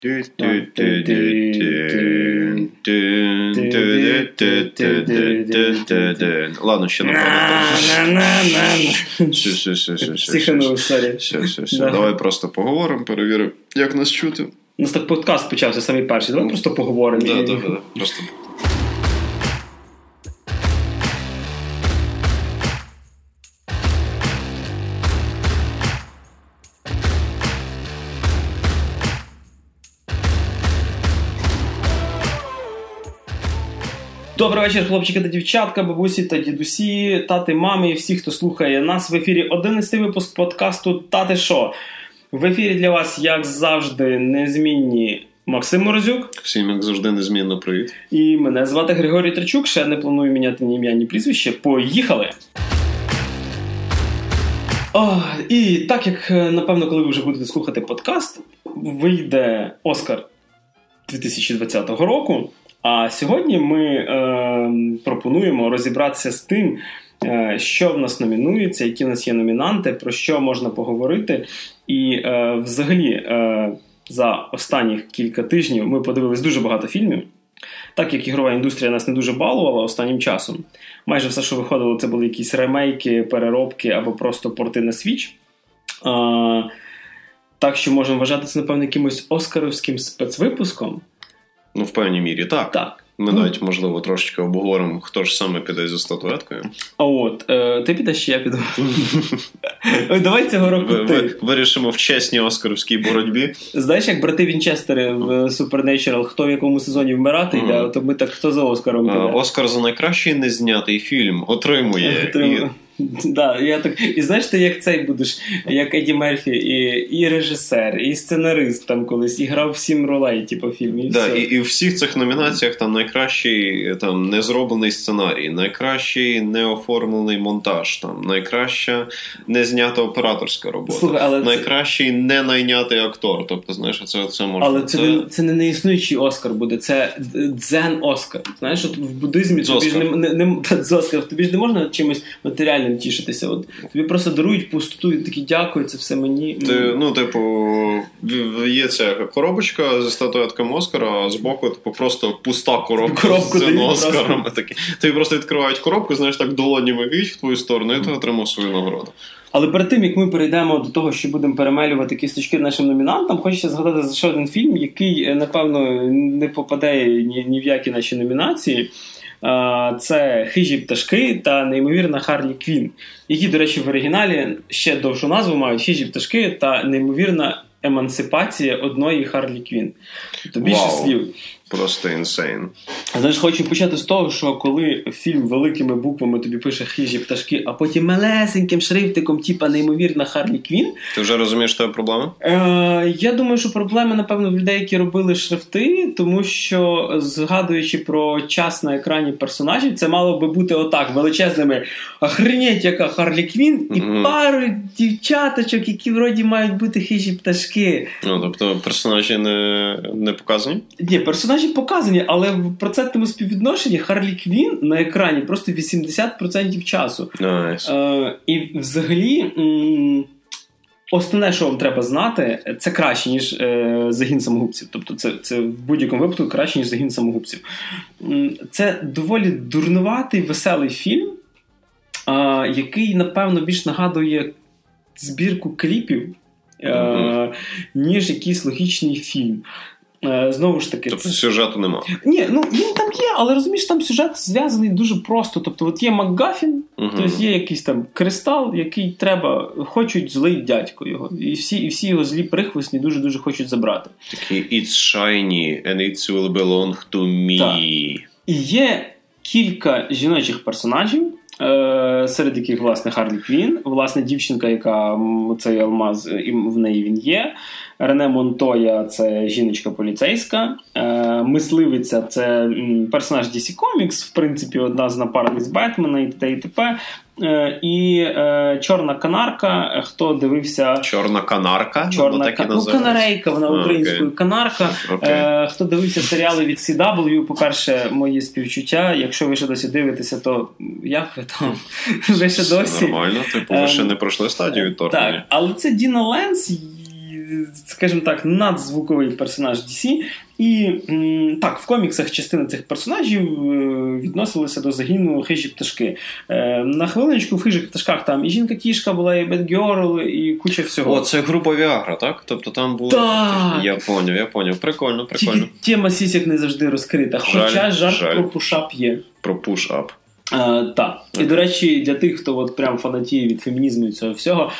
Ладно, ще Психанув, сорі. Давай просто поговоримо, перевіримо, як нас чути. У нас так подкаст почався самий перший. Давай просто поговоримо. Так, просто. Добрий вечір, хлопчики та дівчатка, бабусі та дідусі, тати, мами і всі, хто слухає нас. В ефірі 11-й випуск подкасту «Тати шо?». В ефірі для вас, як завжди, незмінні Максим Морозюк. Всім, як завжди, незмінно привіт. І мене звати Григорій Трачук. Ще не планую міняти ні ім'я, ні прізвище. Поїхали! І так, як, напевно, коли ви вже будете слухати подкаст, вийде Оскар 2020 року. А сьогодні ми пропонуємо розібратися з тим, що в нас номінується, які в нас є номінанти, про що можна поговорити. І взагалі за останніх кілька тижнів ми подивились дуже багато фільмів. Так як ігрова індустрія нас не дуже балувала останнім часом. Майже все, що виходило, це були якісь ремейки, переробки або просто порти на Switch. Так що можемо вважати це, напевно, якимось оскаровським спецвипуском. Ну, в певній мірі, так. Так. Ми навіть, можливо, трошечки обговоримо, хто ж саме піде за статуеткою. А от, ти підеш чи я піду? Давай цього року ти. Вирішимо в чесній оскаровській боротьбі. Знаєш, як брати Вінчестери в Supernatural, хто в якому сезоні вмирати йде, то ми так, хто за Оскаром піде? Оскар за найкращий незнятий фільм отримує. Да, я так. І знаєш, ти як цей будеш, як Еді Мерфі, і режисер, і сценарист там колись, і грав 7 ролей, типу, фільм, і все. І в всіх цих номінаціях там найкращий там незроблений сценарій, найкращий неоформлений монтаж, там найкраща незнята операторська робота. Слухай, найкращий не найнятий актор. Тобто, знаєш, це можна. Але це не неіснуючий Оскар буде, це дзен-Оскар. Знаєш, от в буддизмі тобі ж не можна чимось матеріальним тішитися. От тобі просто дарують пустоту і такі дякую, це все мені. Є ця коробочка зі статуетками Оскара, а збоку просто пуста коробка з цим Оскаром. Тобі просто відкривають коробку, знаєш, так долонями віють в твою сторону, і ти отримав свою нагороду. Але перед тим, як ми перейдемо до того, що будемо перемелювати кісточки нашим номінантам, хочеться згадати за ще один фільм, який, напевно, не попаде ні в які наші номінації. Це «Хижі пташки» та неймовірна Харлі Квін, які, до речі, в оригіналі ще довшу назву мають «Хижі пташки» та неймовірна емансипація одної Харлі Квін. Тобто більше слів. Просто інсейн. Знаєш, хочу почати з того, що коли фільм великими буквами тобі пише «Хижі пташки», а потім малесеньким шрифтиком, типа неймовірна Харлі Квін. Ти вже розумієш, що є проблема? Я думаю, що проблема, напевно, в людей, які робили шрифти, тому що, згадуючи про час на екрані персонажів, це мало би бути отак, величезними «Охренеть, яка Харлі Квін» і пару дівчаточок, які вроді мають бути хижі пташки. Ну, тобто персонажі не показані? Ні, персонажі показані, але в процентному співвідношенні Харлі Квін на екрані просто 80% часу. Nice. І взагалі основне, що вам треба знати, це краще, ніж «Загін самогубців». Тобто це в будь-якому випадку краще, ніж «Загін самогубців». Це доволі дурнуватий, веселий фільм, який, напевно, більш нагадує збірку кліпів, ніж якийсь логічний фільм. Знову ж таки... Тобто сюжету нема? Ні, ну він там є, але розумієш, там сюжет зв'язаний дуже просто. Тобто от є МакГаффін, тобто є якийсь там кристал, який хочуть злий дядько його. І всі його злі прихвостні дуже-дуже хочуть забрати. Такий it's shiny and it will belong to me. Так. І є кілька жіночих персонажів, серед яких, власне, Харлі Квін, власне, дівчинка, яка цей алмаз, і в неї він є. Рене Монтоя – це жіночка поліцейська. Мисливиця – це персонаж DC Comics, в принципі, одна з напарниць Бетмена і т.д. і т.п. І Чорна канарка, хто дивився... Чорна канарка? Канарейка, вона українською канарка. Хто дивився серіали від CW, по-перше, мої співчуття. Якщо ви ще досі дивитеся, то як ви там? Ви ще досі? Нормально, ви ще не пройшли стадію відторгнення. Так, але це Діна Ленс, скажімо так, надзвуковий персонаж DC. І так, в коміксах частина цих персонажів відносилися до загину хижі пташки. На хвилиночку в хижих пташках там і жінка-кішка була, і Бетгерл, і куча всього. О, це група Віагра, так? Тобто там було... Так! Я поняв. Прикольно. Тільки тема сісік не завжди розкрита. Хоча жарт про пушап є. Про пушап. Так. І, до речі, для тих, хто от прям фанатіє від фемінізму і цього всього,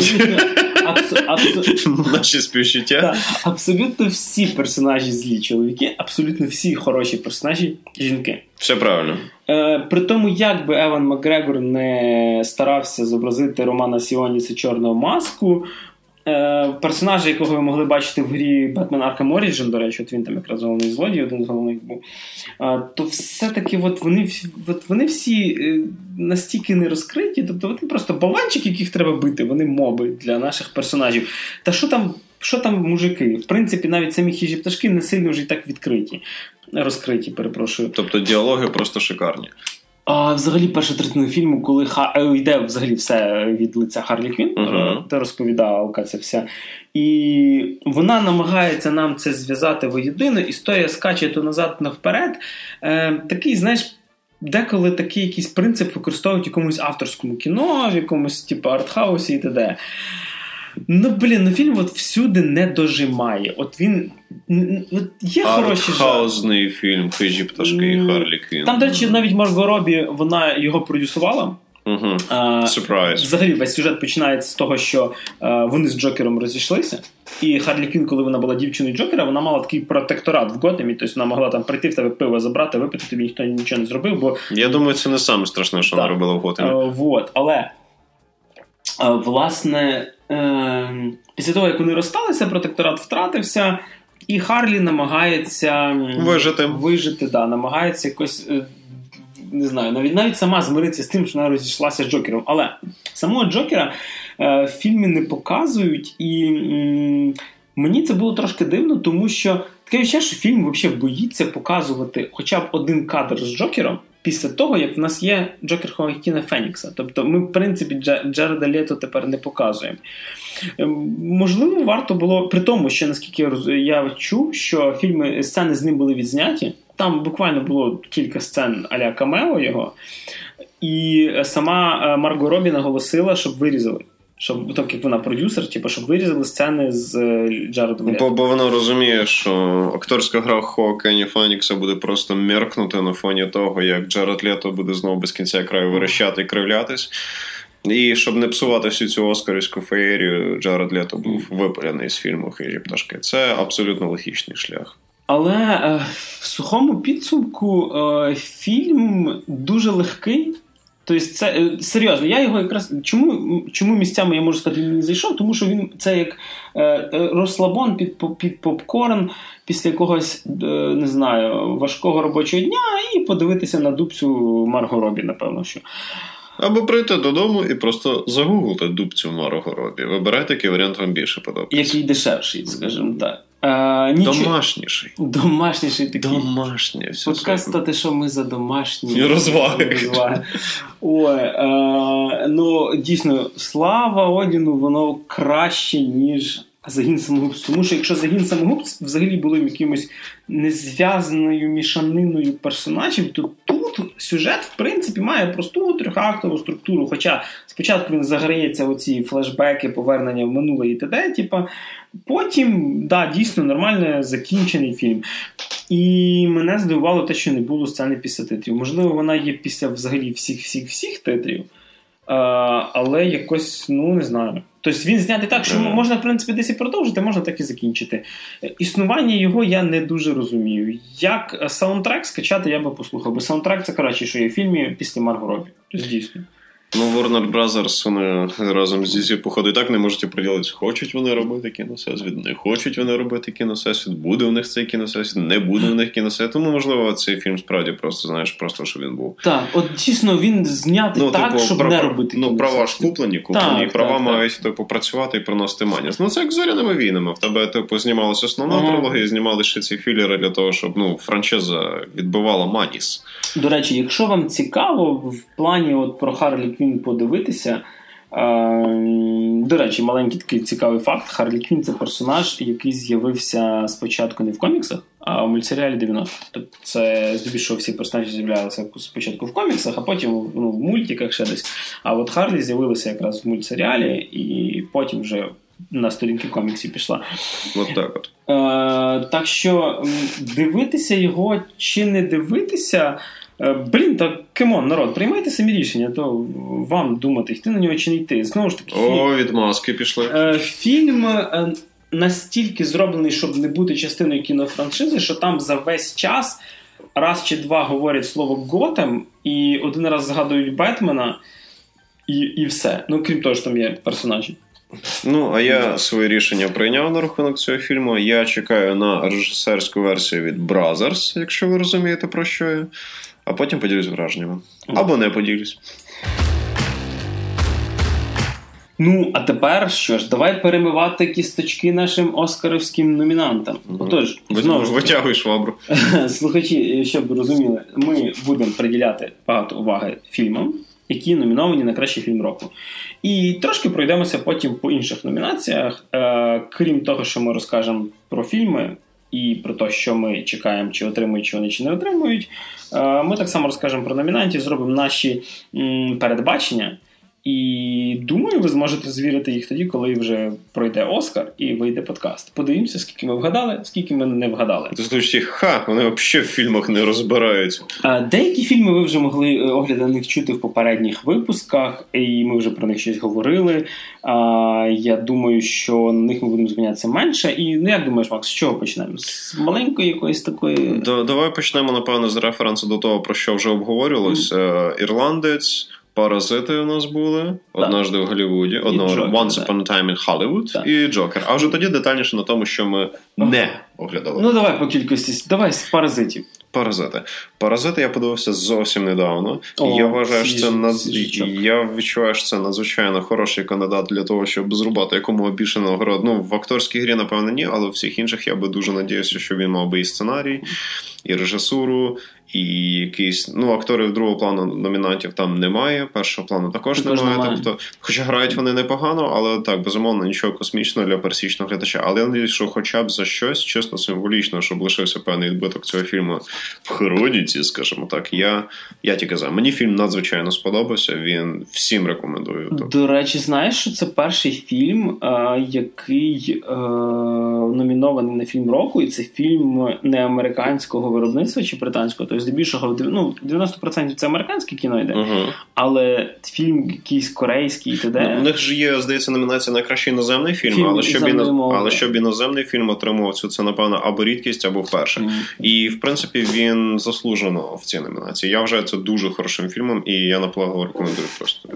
Наші співчуття. Абсолютно всі персонажі злі чоловіки, абсолютно всі хороші персонажі жінки. Все правильно. При тому, як би Еван Макгрегор не старався зобразити Романа Сіоніса Чорного маску, персонажа, якого ви могли бачити в грі Batman Arkham Origin, до речі, от він там якраз головний злодій, один з головних був, то все-таки вони всі настільки не розкриті, тобто вони просто болванчики, яких треба бити, вони моби для наших персонажів. Та що там мужики? В принципі, навіть самі хижі пташки не сильно вже і так розкриті, перепрошую. Тобто діалоги просто шикарні. А взагалі перша третина фільму, коли йде взагалі все від лиця Харлі Квін, де розповідалка ця вся. І вона намагається нам це зв'язати воєдино, історія скаче то назад, то вперед. Такий, знаєш, деколи такий якийсь принцип використовують в якомусь авторському кіно, в якомусь типу артхаусі і т.д. Фільм от всюди не дожимає. От він... Є хороші жарти. Артхаусний фільм «Хижі пташки» і Харлі Квін. Там, до речі, навіть Марго Робі, вона його продюсувала. Сюрприз. Взагалі, весь сюжет починається з того, що вони з Джокером розійшлися. І Харлі Квін, коли вона була дівчиною Джокера, вона мала такий протекторат в Готемі. Тобто вона могла там прийти в тебе пиво забрати, випити, тобі ніхто нічого не зробив. Бо... Я думаю, це не саме страшне, що вона робила в Готемі. Але, власне, після того, як вони розсталися, протекторат втратився, і Харлі намагається вижити, намагається якось, не знаю, навіть сама змиритися з тим, що вона розійшлася з Джокером. Але самого Джокера в фільмі не показують, і мені це було трошки дивно, тому що таке відчуття, що фільм взагалі боїться показувати хоча б один кадр з Джокером після того, як в нас є Джокер Хоакіна Фенікса. Тобто ми, в принципі, Джареда Лето тепер не показуємо. Можливо, варто було, при тому, що, наскільки я чув, що сцени з ним були відзняті, там буквально було кілька сцен а-ля камео його, і сама Марго Робі наголосила, щоб вирізали. Так як вона продюсер, щоб вирізали сцени з Джаредом Лето. Бо вона розуміє, що акторська гра Хоакіна Фенікса буде просто меркнути на фоні того, як Джаред Лето буде знову без кінця краю верещати і кривлятись. І щоб не псувати всю цю оскарівську феєрію, Джаред Лето був випалений з фільму «Хижі пташки». Це абсолютно логічний шлях. Але в сухому підсумку фільм дуже легкий. Тобто це, серйозно, я його якраз... Чому місцями, я можу сказати, він не зайшов? Тому що це як розслабон під попкорн після якогось, не знаю, важкого робочого дня і подивитися на дубцю Марго Робі, напевно, що... Або прийти додому і просто загуглити дубцю Марго Робі. Вибирайте, який варіант вам більше подобається. Який дешевший, скажімо так. Домашніший. Домашніший такий. Домашнє. Подкаст стати, що ми за домашні розваги. Ой, дійсно, слава Одіну, воно краще, ніж «Загін самогубств». Тому що якщо «Загін самогубств» взагалі було якимось незв'язаною мішаниною персонажів, то тут сюжет, в принципі, має просту трьохактову структуру. Хоча спочатку він заграється оці флешбеки, повернення в минуле і т.д. Потім, дійсно, нормально закінчений фільм. І мене здивувало те, що не було сцени після титрів. Можливо, вона є після взагалі всіх титрів. Але якось, не знаю. Тобто він знятий так, що можна, в принципі, десь і продовжити, можна так і закінчити. Існування його я не дуже розумію. Як саундтрек скачати, я би послухав. Бо саундтрек – це краще, що є в фільмі після Марго Робі. Тобто, дійсно. Warner Brothers, вони разом з DC, походу, і так не можуть приділитися. Хочуть вони робити кіносесвіт, не хочуть вони робити кіносесвіт, буде в них цей кіносесвіт, не буде в них кіносесвіт. Тому, можливо, цей фільм справді просто, щоб він був. Так, от дійсно він знятий так, щоб не робити кіносесвіт. Права ж куплені, і права мають попрацювати і приносити мані. Це як з «Зоряними війнами». В тебе, знімалася основна трилогія, знімали ще ці філери для того, щоб, франшиза відбивала маніс. До речі, якщо вам цікаво в плані про Харлі Квін подивитися, До речі, маленький такий цікавий факт. Харлі Квінн – це персонаж, який з'явився спочатку не в коміксах, а в мультсеріалі 90-х. Тобто це здебільшого всі персонажі з'являлися спочатку в коміксах, а потім в мультиках ще десь. А от Харлі з'явилася якраз в мультсеріалі і потім вже на сторінки коміксів пішла. От так от. Так що дивитися його чи не дивитися... так кемон, народ, приймайте самі рішення, то вам думати, йти на нього чи не йти. Знову ж таки, відмазки пішли. Фільм настільки зроблений, щоб не бути частиною кінофраншизи, що там за весь час раз чи два говорять слово Готэм, і один раз згадують Бетмена, і все. Крім того, що там є персонажі. А я своє рішення прийняв на рахунок цього фільму. Я чекаю на режисерську версію від Brothers, якщо ви розумієте, про що я. А потім поділюсь враженнями. Або не поділюсь. А тепер що ж, давай перемивати кісточки нашим оскарівським номінантам. Отож, знову ж витягуй швабру. Слухачі, щоб ви розуміли, ми будемо приділяти багато уваги фільмам, які номіновані на кращий фільм року. І трошки пройдемося потім по інших номінаціях. Крім того, що ми розкажемо про фільми і про те, що ми чекаємо, чи отримують, чи вони, чи не отримують, ми так само розкажемо про номінантів, зробимо наші передбачення. І думаю, ви зможете звірити їх тоді, коли вже пройде Оскар і вийде подкаст. Подивимося, скільки ми вгадали, скільки ми не вгадали. Ти слухаєш, вони взагалі в фільмах не розбираються. Деякі фільми ви вже могли огляди на них чути в попередніх випусках, і ми вже про них щось говорили. Я думаю, що на них ми будемо зупинятися менше. І, як думаєш, Макс, з чого почнемо? З маленької якоїсь такої... Давай почнемо, напевно, з референсу до того, про що вже обговорювалось. «Ірландець», «Паразити» у нас були, «Однажды в Голлівуді», «Once Upon a Time in Hollywood» і «Джокер». А вже тоді детальніше на тому, що ми не оглядали. Давай по кількості. Давай з «Паразитів». «Паразити» я подивився зовсім недавно. Я вважаю, що я відчуваю, що це надзвичайно хороший кандидат для того, щоб зрубати якомога більше нагород. В акторській грі, напевно, ні, але в всіх інших я би дуже надіявся, що він мав би і сценарій, і режисуру, і якісь... акторів другого плану номінантів там немає, першого плану також немає. Тобто, хоча грають вони непогано, але так, безумовно, нічого космічного для пересічного глядача. Але я надіюсь, що хоча б за щось, чисто символічно, щоб лишився певний відбиток цього фільму в хроніці, скажімо так, я тільки за. Мені фільм надзвичайно сподобався, він всім рекомендую. До речі, знаєш, що це перший фільм, який номінований на фільм року, і це фільм не американського виробництва чи британського, тобто здебільшого 90% це американське кіно йде, але фільм якийсь корейський і т.д. У них ж є, здається, номінація на кращий іноземний фільм, але щоб іноземний фільм отримував цю, це, напевно, або рідкість, або вперше. І, в принципі, він заслужено в цій номінації. Я вважаю це дуже хорошим фільмом, і я наполегливо рекомендую просто.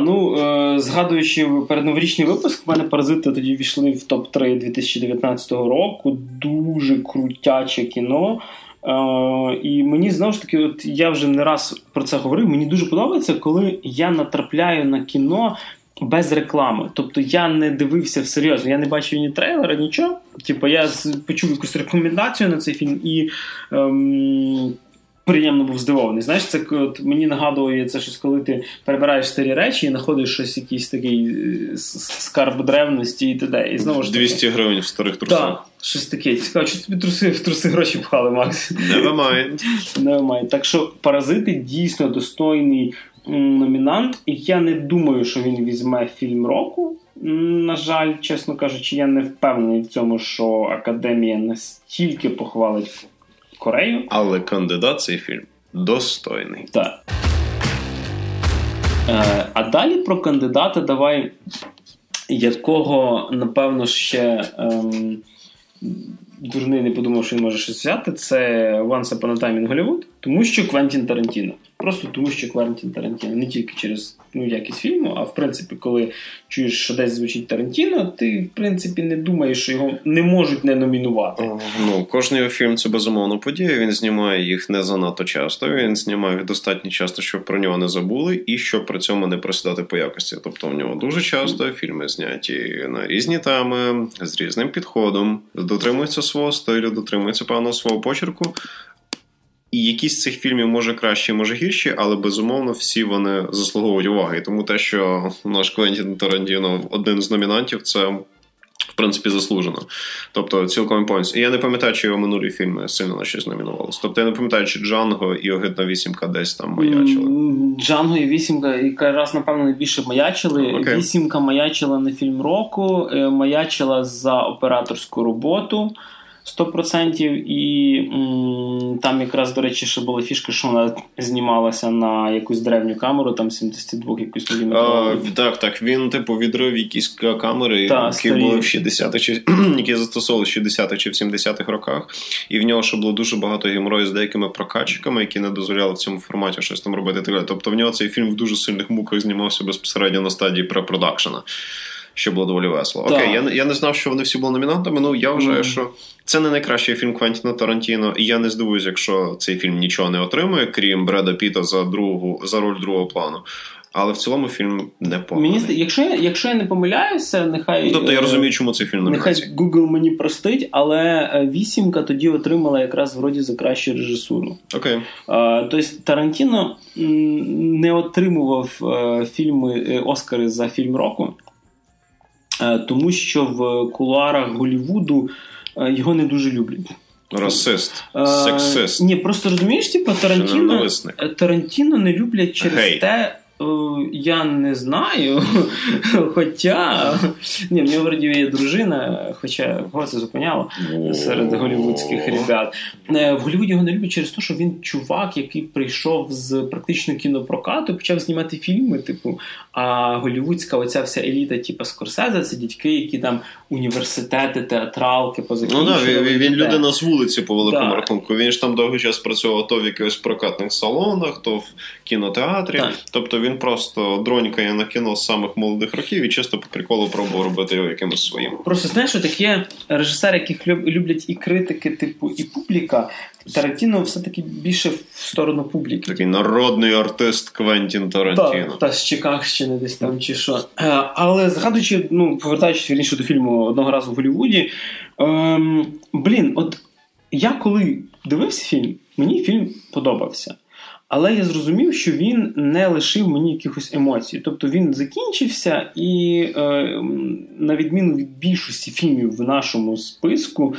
Згадуючи передноворічний випуск, в мене «Паразити» тоді війшли в топ-3 2019 року. Дуже крутяче кіно. І мені, знову ж таки, я вже не раз про це говорив, мені дуже подобається, коли я натрапляю на кіно без реклами. Тобто я не дивився всерйозно, я не бачив ні трейлера, нічого. Я почув якусь рекомендацію на цей фільм і приємно був здивований. Знаєш, це мені нагадує це щось, коли ти перебираєш старі речі і знаходиш щось, якийсь такий скарб древності і т.д. І знову ж 200 гривень в старих трусах. Так, щось таке. Цікаво, чи тобі в труси гроші пхали, Макс? Never mind. Так що «Паразити» дійсно достойний номінант, і я не думаю, що він візьме фільм року. На жаль, чесно кажучи, я не впевнений в цьому, що Академія настільки похвалить Корею. Але кандидат цей фільм достойний. Так. А далі про кандидата давай, якого, напевно, ще дурний не подумав, що він може щось взяти. Це Once Upon a Time in Hollywood, тому що Квентін Тарантіно. Просто тому що Квентін Тарантіно. Не тільки через якість фільму, а в принципі, коли чуєш, що десь звучить Тарантіно, ти, в принципі, не думаєш, що його не можуть не номінувати. Кожний його фільм – це безумовно подія. Він знімає їх не занадто часто. Він знімає їх достатньо часто, щоб про нього не забули, і щоб при цьому не просідати по якості. Тобто в нього дуже часто фільми зняті на різні теми, з різним підходом, дотримуються свого стилю, дотримуються певного свого почерку. І якісь з цих фільмів може кращі, може гірші, але, безумовно, всі вони заслуговують уваги. І тому те, що наш Квентін Тарантіно один з номінантів, це, в принципі, заслужено. Тобто, цілком повністю. І я не пам'ятаю, чи його минулі фільми сильно на щось номінувалися. Тобто, я не пам'ятаю, чи Джанго і Огидна вісімка десь там маячили. Джанго і вісімка якраз, напевно, найбільше маячили. Вісімка маячила на фільм року, маячила за операторську роботу. 100%, і там якраз, до речі, ще була фішка, що вона знімалася на якусь древню камеру, там 72 якусь міліметрову. Так, він, відрив якісь камери, які були в 60-х, які застосовували в 60-х чи в 70-х роках, і в нього ще було дуже багато геморою з деякими прокатчиками, які не дозволяли в цьому форматі щось там робити. Тобто в нього цей фільм в дуже сильних муках знімався безпосередньо на стадії препродакшена. Що було доволі весело. Окей, я не знав, що вони всі були номінантами, я вважаю, що це не найкращий фільм Квентіна Тарантіно, і я не здивуюсь, якщо цей фільм нічого не отримує, крім Бреда Піта за роль другого плану. Але в цілому фільм непоганий. Якщо я не помиляюся, нехай... Тобто я розумію, чому цей фільм номінації. Нехай Google мені простить, але «Вісімка» тоді отримала якраз вроді за кращу режисуру. Окей. Тобто Тарантіно не отримував Оскари за фільм року, тому що в кулуарах Голлівуду його не дуже люблять. Расист, сексист. Ні, просто розумієш, Тарантіно не люблять через те, я не знаю, хоча... Ні, в нього вроді є дружина, хоча кого це зупиняло серед голлівудських ребят. В Голлівуді його не люблять через те, що він чувак, який прийшов з практично кінопрокату, почав знімати фільми, а голлівудська оця вся еліта, Скорсезе, це дітки, які там університети, театралки позакінчували. Він людина з вулиці, по великому рахунку. Він ж там довгий час працював то в якихось прокатних салонах, то в кінотеатрі. Тобто він просто дронькає на кіно з самих молодих років і чисто по приколу пробував робити його якимось своїм. Просто знаєш, що такі режисери, яких люблять і критики, і публіка, Тарантіно все-таки більше в сторону публіки. Такий народний артист Квентін Тарантіно. Та з Чикагщини десь там чи що. Але згадуючи, повертаючись вірніше до фільму «Одного разу в Голлівуді», я коли дивився фільм, мені фільм подобався. Але я зрозумів, що він не лишив мені якихось емоцій. Тобто він закінчився і, на відміну від більшості фільмів в нашому списку,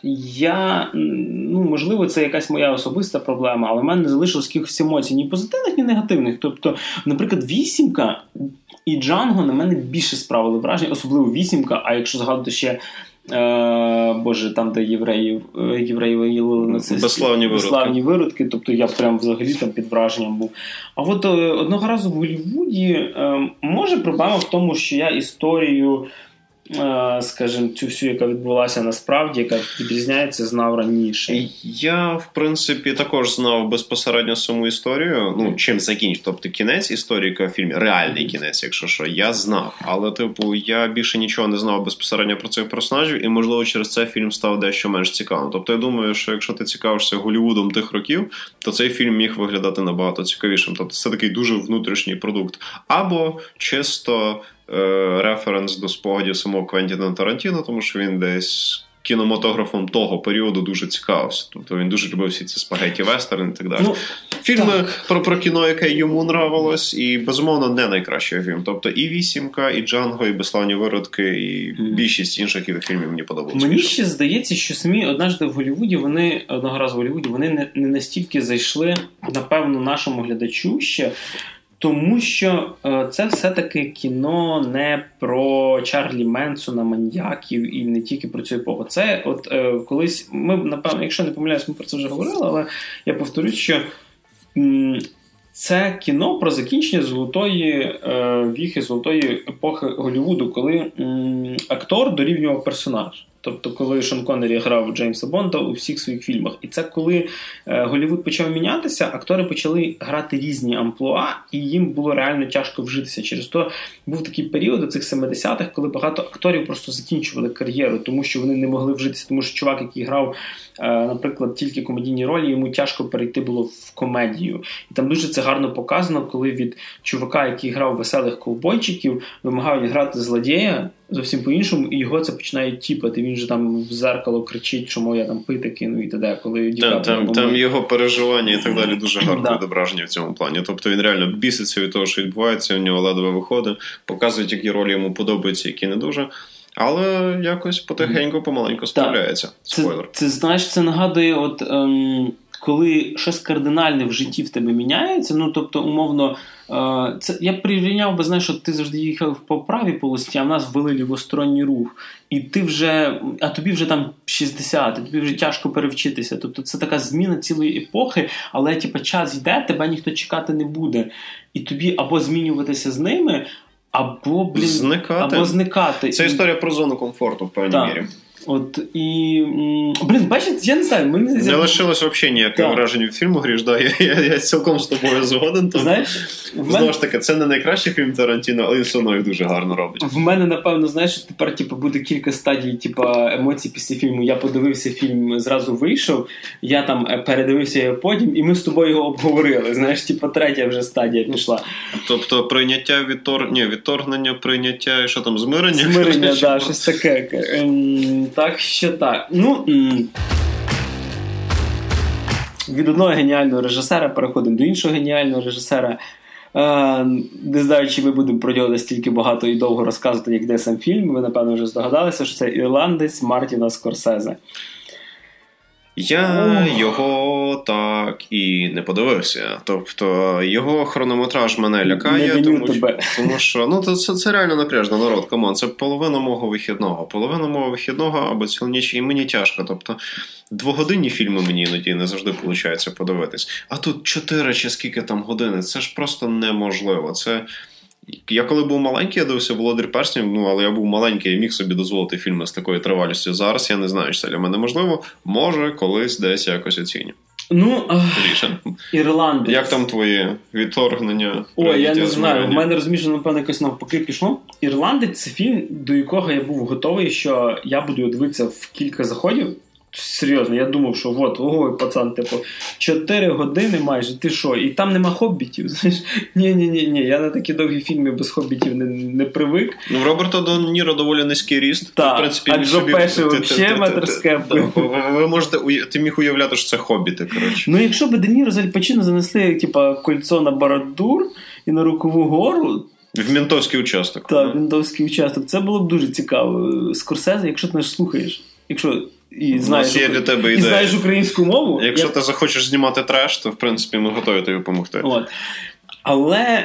можливо, це якась моя особиста проблема, але в мене не залишилось якихось емоцій, ні позитивних, ні негативних. Тобто, наприклад, «Вісімка» і «Джанго» на мене більше справили враження, особливо «Вісімка», а якщо згадувати ще там, де євреїв виявили нацисти. Безславні виродки. Тобто я прям взагалі там під враженням був. А от одного разу в Голлівуді може проблема в тому, що я історію, скажімо, цю всю, яка відбулася насправді, яка відрізняється, знав раніше. Я, в принципі, також знав безпосередньо саму історію, чим закінчив. Тобто кінець історії, яка в фільмі, реальний кінець, якщо що, я знав. Але, я більше нічого не знав безпосередньо про цих персонажів, і, можливо, через це фільм став дещо менш цікавим. Тобто, я думаю, що якщо ти цікавишся Голлівудом тих років, то цей фільм міг виглядати набагато цікавішим. Тобто, це такий дуже внутрішній продукт. Або чисто референс до спогадів самого Квентіна Тарантіно, тому що він десь кінематографом того періоду дуже цікавився. Тобто він дуже любив всі ці спагетті-вестерни і так далі. Фільми про кіно, яке йому нравилось, і, безумовно, не найкращий фільм. Тобто і «Вісімка», і «Джанго», і «Безславні виродки», і більшість інших фільмів мені подобалося. Мені ще здається, що самі одного разу в Голлівуді, вони не настільки зайшли, напевно, нашому глядачу ще, тому що це все-таки кіно не про Чарлі Менсона, маньяків і не тільки про цю епоху. Це колись, ми, напевно, якщо не помиляюсь, ми про це вже говорили, але я повторюсь, що це кіно про закінчення золотої віхи, золотої епохи Голлівуду, коли актор дорівнював персонаж. Тобто, коли Шон Коннері грав Джеймса Бонда у всіх своїх фільмах. І це коли Голлівуд почав мінятися, актори почали грати різні амплуа, і їм було реально тяжко вжитися. Через то був такий період у цих 70-х, коли багато акторів просто закінчували кар'єру, тому що вони не могли вжитися. Тому що чувак, який грав, наприклад, тільки комедійні ролі, йому тяжко перейти було в комедію. І там дуже це гарно показано, коли від чувака, який грав веселих ковбойчиків, вимагають грати злодія, зовсім по-іншому, і його це починає тіпати. Він же там в зеркало кричить, чому я там пити кину і т.д. Коли там його переживання і так далі дуже гарно відображені в цьому плані. Тобто він реально біситься від того, що відбувається, у нього ледве виходить, показують, які ролі йому подобаються, які не дуже. Але якось потихеньку, помаленьку справляється. Спойлер. Це знаєш, це нагадує, коли щось кардинальне в житті в тебе міняється, ну, тобто, умовно, це, я прирівняв би, знаєш, що ти завжди їхав по правій полосі, а в нас ввели лівосторонній рух. І ти вже, а тобі вже там 60, тобі вже тяжко перевчитися. Тобто це така зміна цілої епохи, але час йде, тебе ніхто чекати не буде. І тобі або змінюватися з ними, або зникати. Це історія про зону комфорту, в певній мірі. От, і, бачите, я не знаю. Не лишилось взагалі ніякого враження від фільму, Гріш, я цілком з тобою згоден. Знаєш, знову ж таки, це не найкращий фільм Тарантіно, але він все одно їх дуже гарно робить. В мене, напевно, знаєш, тепер буде кілька стадій емоцій після фільму. Я подивився фільм, зразу вийшов, я там передивився його потім, і ми з тобою його обговорили. Знаєш, третя вже стадія пішла. Тобто прийняття, відторгнення, прийняття, і що там, змирення? Змирення, так, щось таке. Так що так. Від одного геніального режисера переходимо до іншого геніального режисера. Не знаю, чи ми будемо про нього настільки багато і довго розказувати, як де сам фільм. Ви, напевно, вже здогадалися, що це ірландець Мартіна Скорсезе. Я його так і не подивився. Тобто, його хронометраж мене лякає, тому що це реально напряжно, народ, камон, це половина мого вихідного або цілу ніч, і мені тяжко. Тобто, 2-годинні фільми мені іноді не завжди виходить подивитись. А тут 4 чи скільки там години, це ж просто неможливо. Я коли був маленький, я дивився «Володар перснів», але я був маленький і міг собі дозволити фільми з такою тривалістю. Зараз я не знаю, чи це для мене можливо. Може, колись десь якось оціню. Ірландець. Як там твої відторгнення? Я не знаю. В мене, розумієш, напевно, якось навпаки пішло. «Ірландець» – це фільм, до якого я був готовий, що я буду дивитися в кілька заходів. Серйозно, я думав, що ой, пацан, 4 години майже, ти що? І там нема хоббітів, знаєш? Ні, я на такі довгі фільми без хоббітів не привик. В Роберта Де Ніро доволі низький ріст. Так, а Джо Пеші взагалі метр з кепкою. Ви можете, ти міг уявляти, що це хобіти, коротше. Якщо б Де Ніро з Аль Пачино занесли, кольцо на Бородур і на Рокову гору, в ментовський участок. Так, в ментовський участок. Це було б дуже цікаво. Скорсезе, якщо ти нас слухаєш, і знаєш українську мову. Якщо ти захочеш знімати треш, то в принципі ми готові тобі допомогти. Але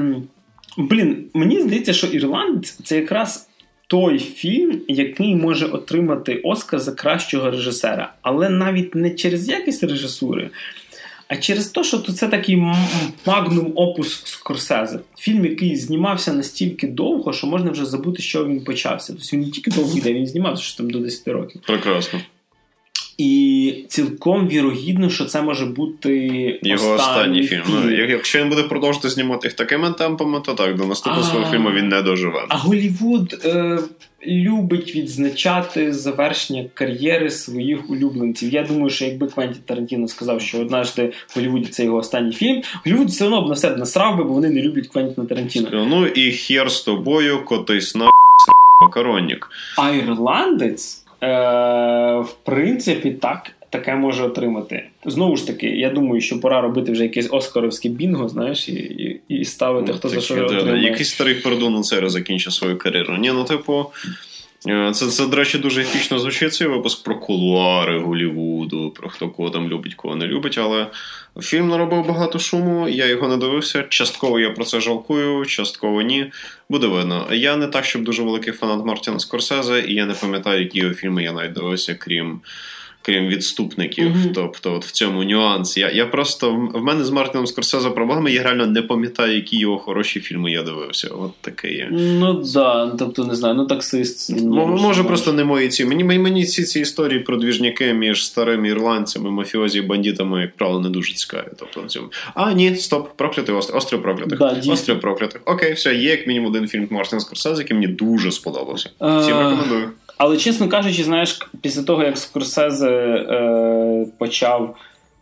мені здається, що «Ірландець» – це якраз той фільм, який може отримати Оскар за кращого режисера. Але навіть не через якість режисури, а через те, що це такий магнум опус Скорсезе. Фільм, який знімався настільки довго, що можна вже забути, що він почався. Тобто він не тільки довго йде, він знімався що там до 10 років. Прекрасно. І цілком вірогідно, що це може бути його останній фільм. Якщо він буде продовжувати знімати їх такими темпами, то так, до наступного свого фільму він не доживе. А Голлівуд любить відзначати завершення кар'єри своїх улюбленців. Я думаю, що якби Квентін Тарантіно сказав, що однажды в Голлівуді це його останній фільм, Голлівуд все одно б на себе насрав би, бо вони не люблять Квентіна Тарантіно. І хер з тобою, котись на макаронник. А «Ірландець» в принципі таке може отримати. Знову ж таки, я думаю, що пора робити вже якесь оскаровське бінго, знаєш, і ставити, хто за що отримає. Якийсь старий Пердун Цера закінчив свою кар'єру. Це, до речі, дуже епічно звучить цей випуск про кулуари Голлівуду, про хто кого там любить, кого не любить, але фільм наробив багато шуму, я його не дивився, частково я про це жалкую, частково ні, буде видно. Я не так, щоб дуже великий фанат Мартіна Скорсезе, і я не пам'ятаю, які його фільми я навіть дивився, крім відступників, тобто в цьому нюанс. Я просто, в мене з Мартіном Скорсезе проблеми, я реально не пам'ятаю, які його хороші фільми я дивився. От таке є. Тобто, не знаю, «Таксист». Може просто не мої ці. Мені ці історії про двіжняки між старими ірландцями, мафіозі і бандитами, як правило, не дуже цікаві. Тобто, в цьому. Ні, стоп, проклятий острів проклятих. Острів проклятих. Окей, все, є як мінімум один фільм Мартіна Скорсезе, який мені дуже сподобався. Всім рекомендую. Але, чесно кажучи, знаєш, після того, як Скорсезе почав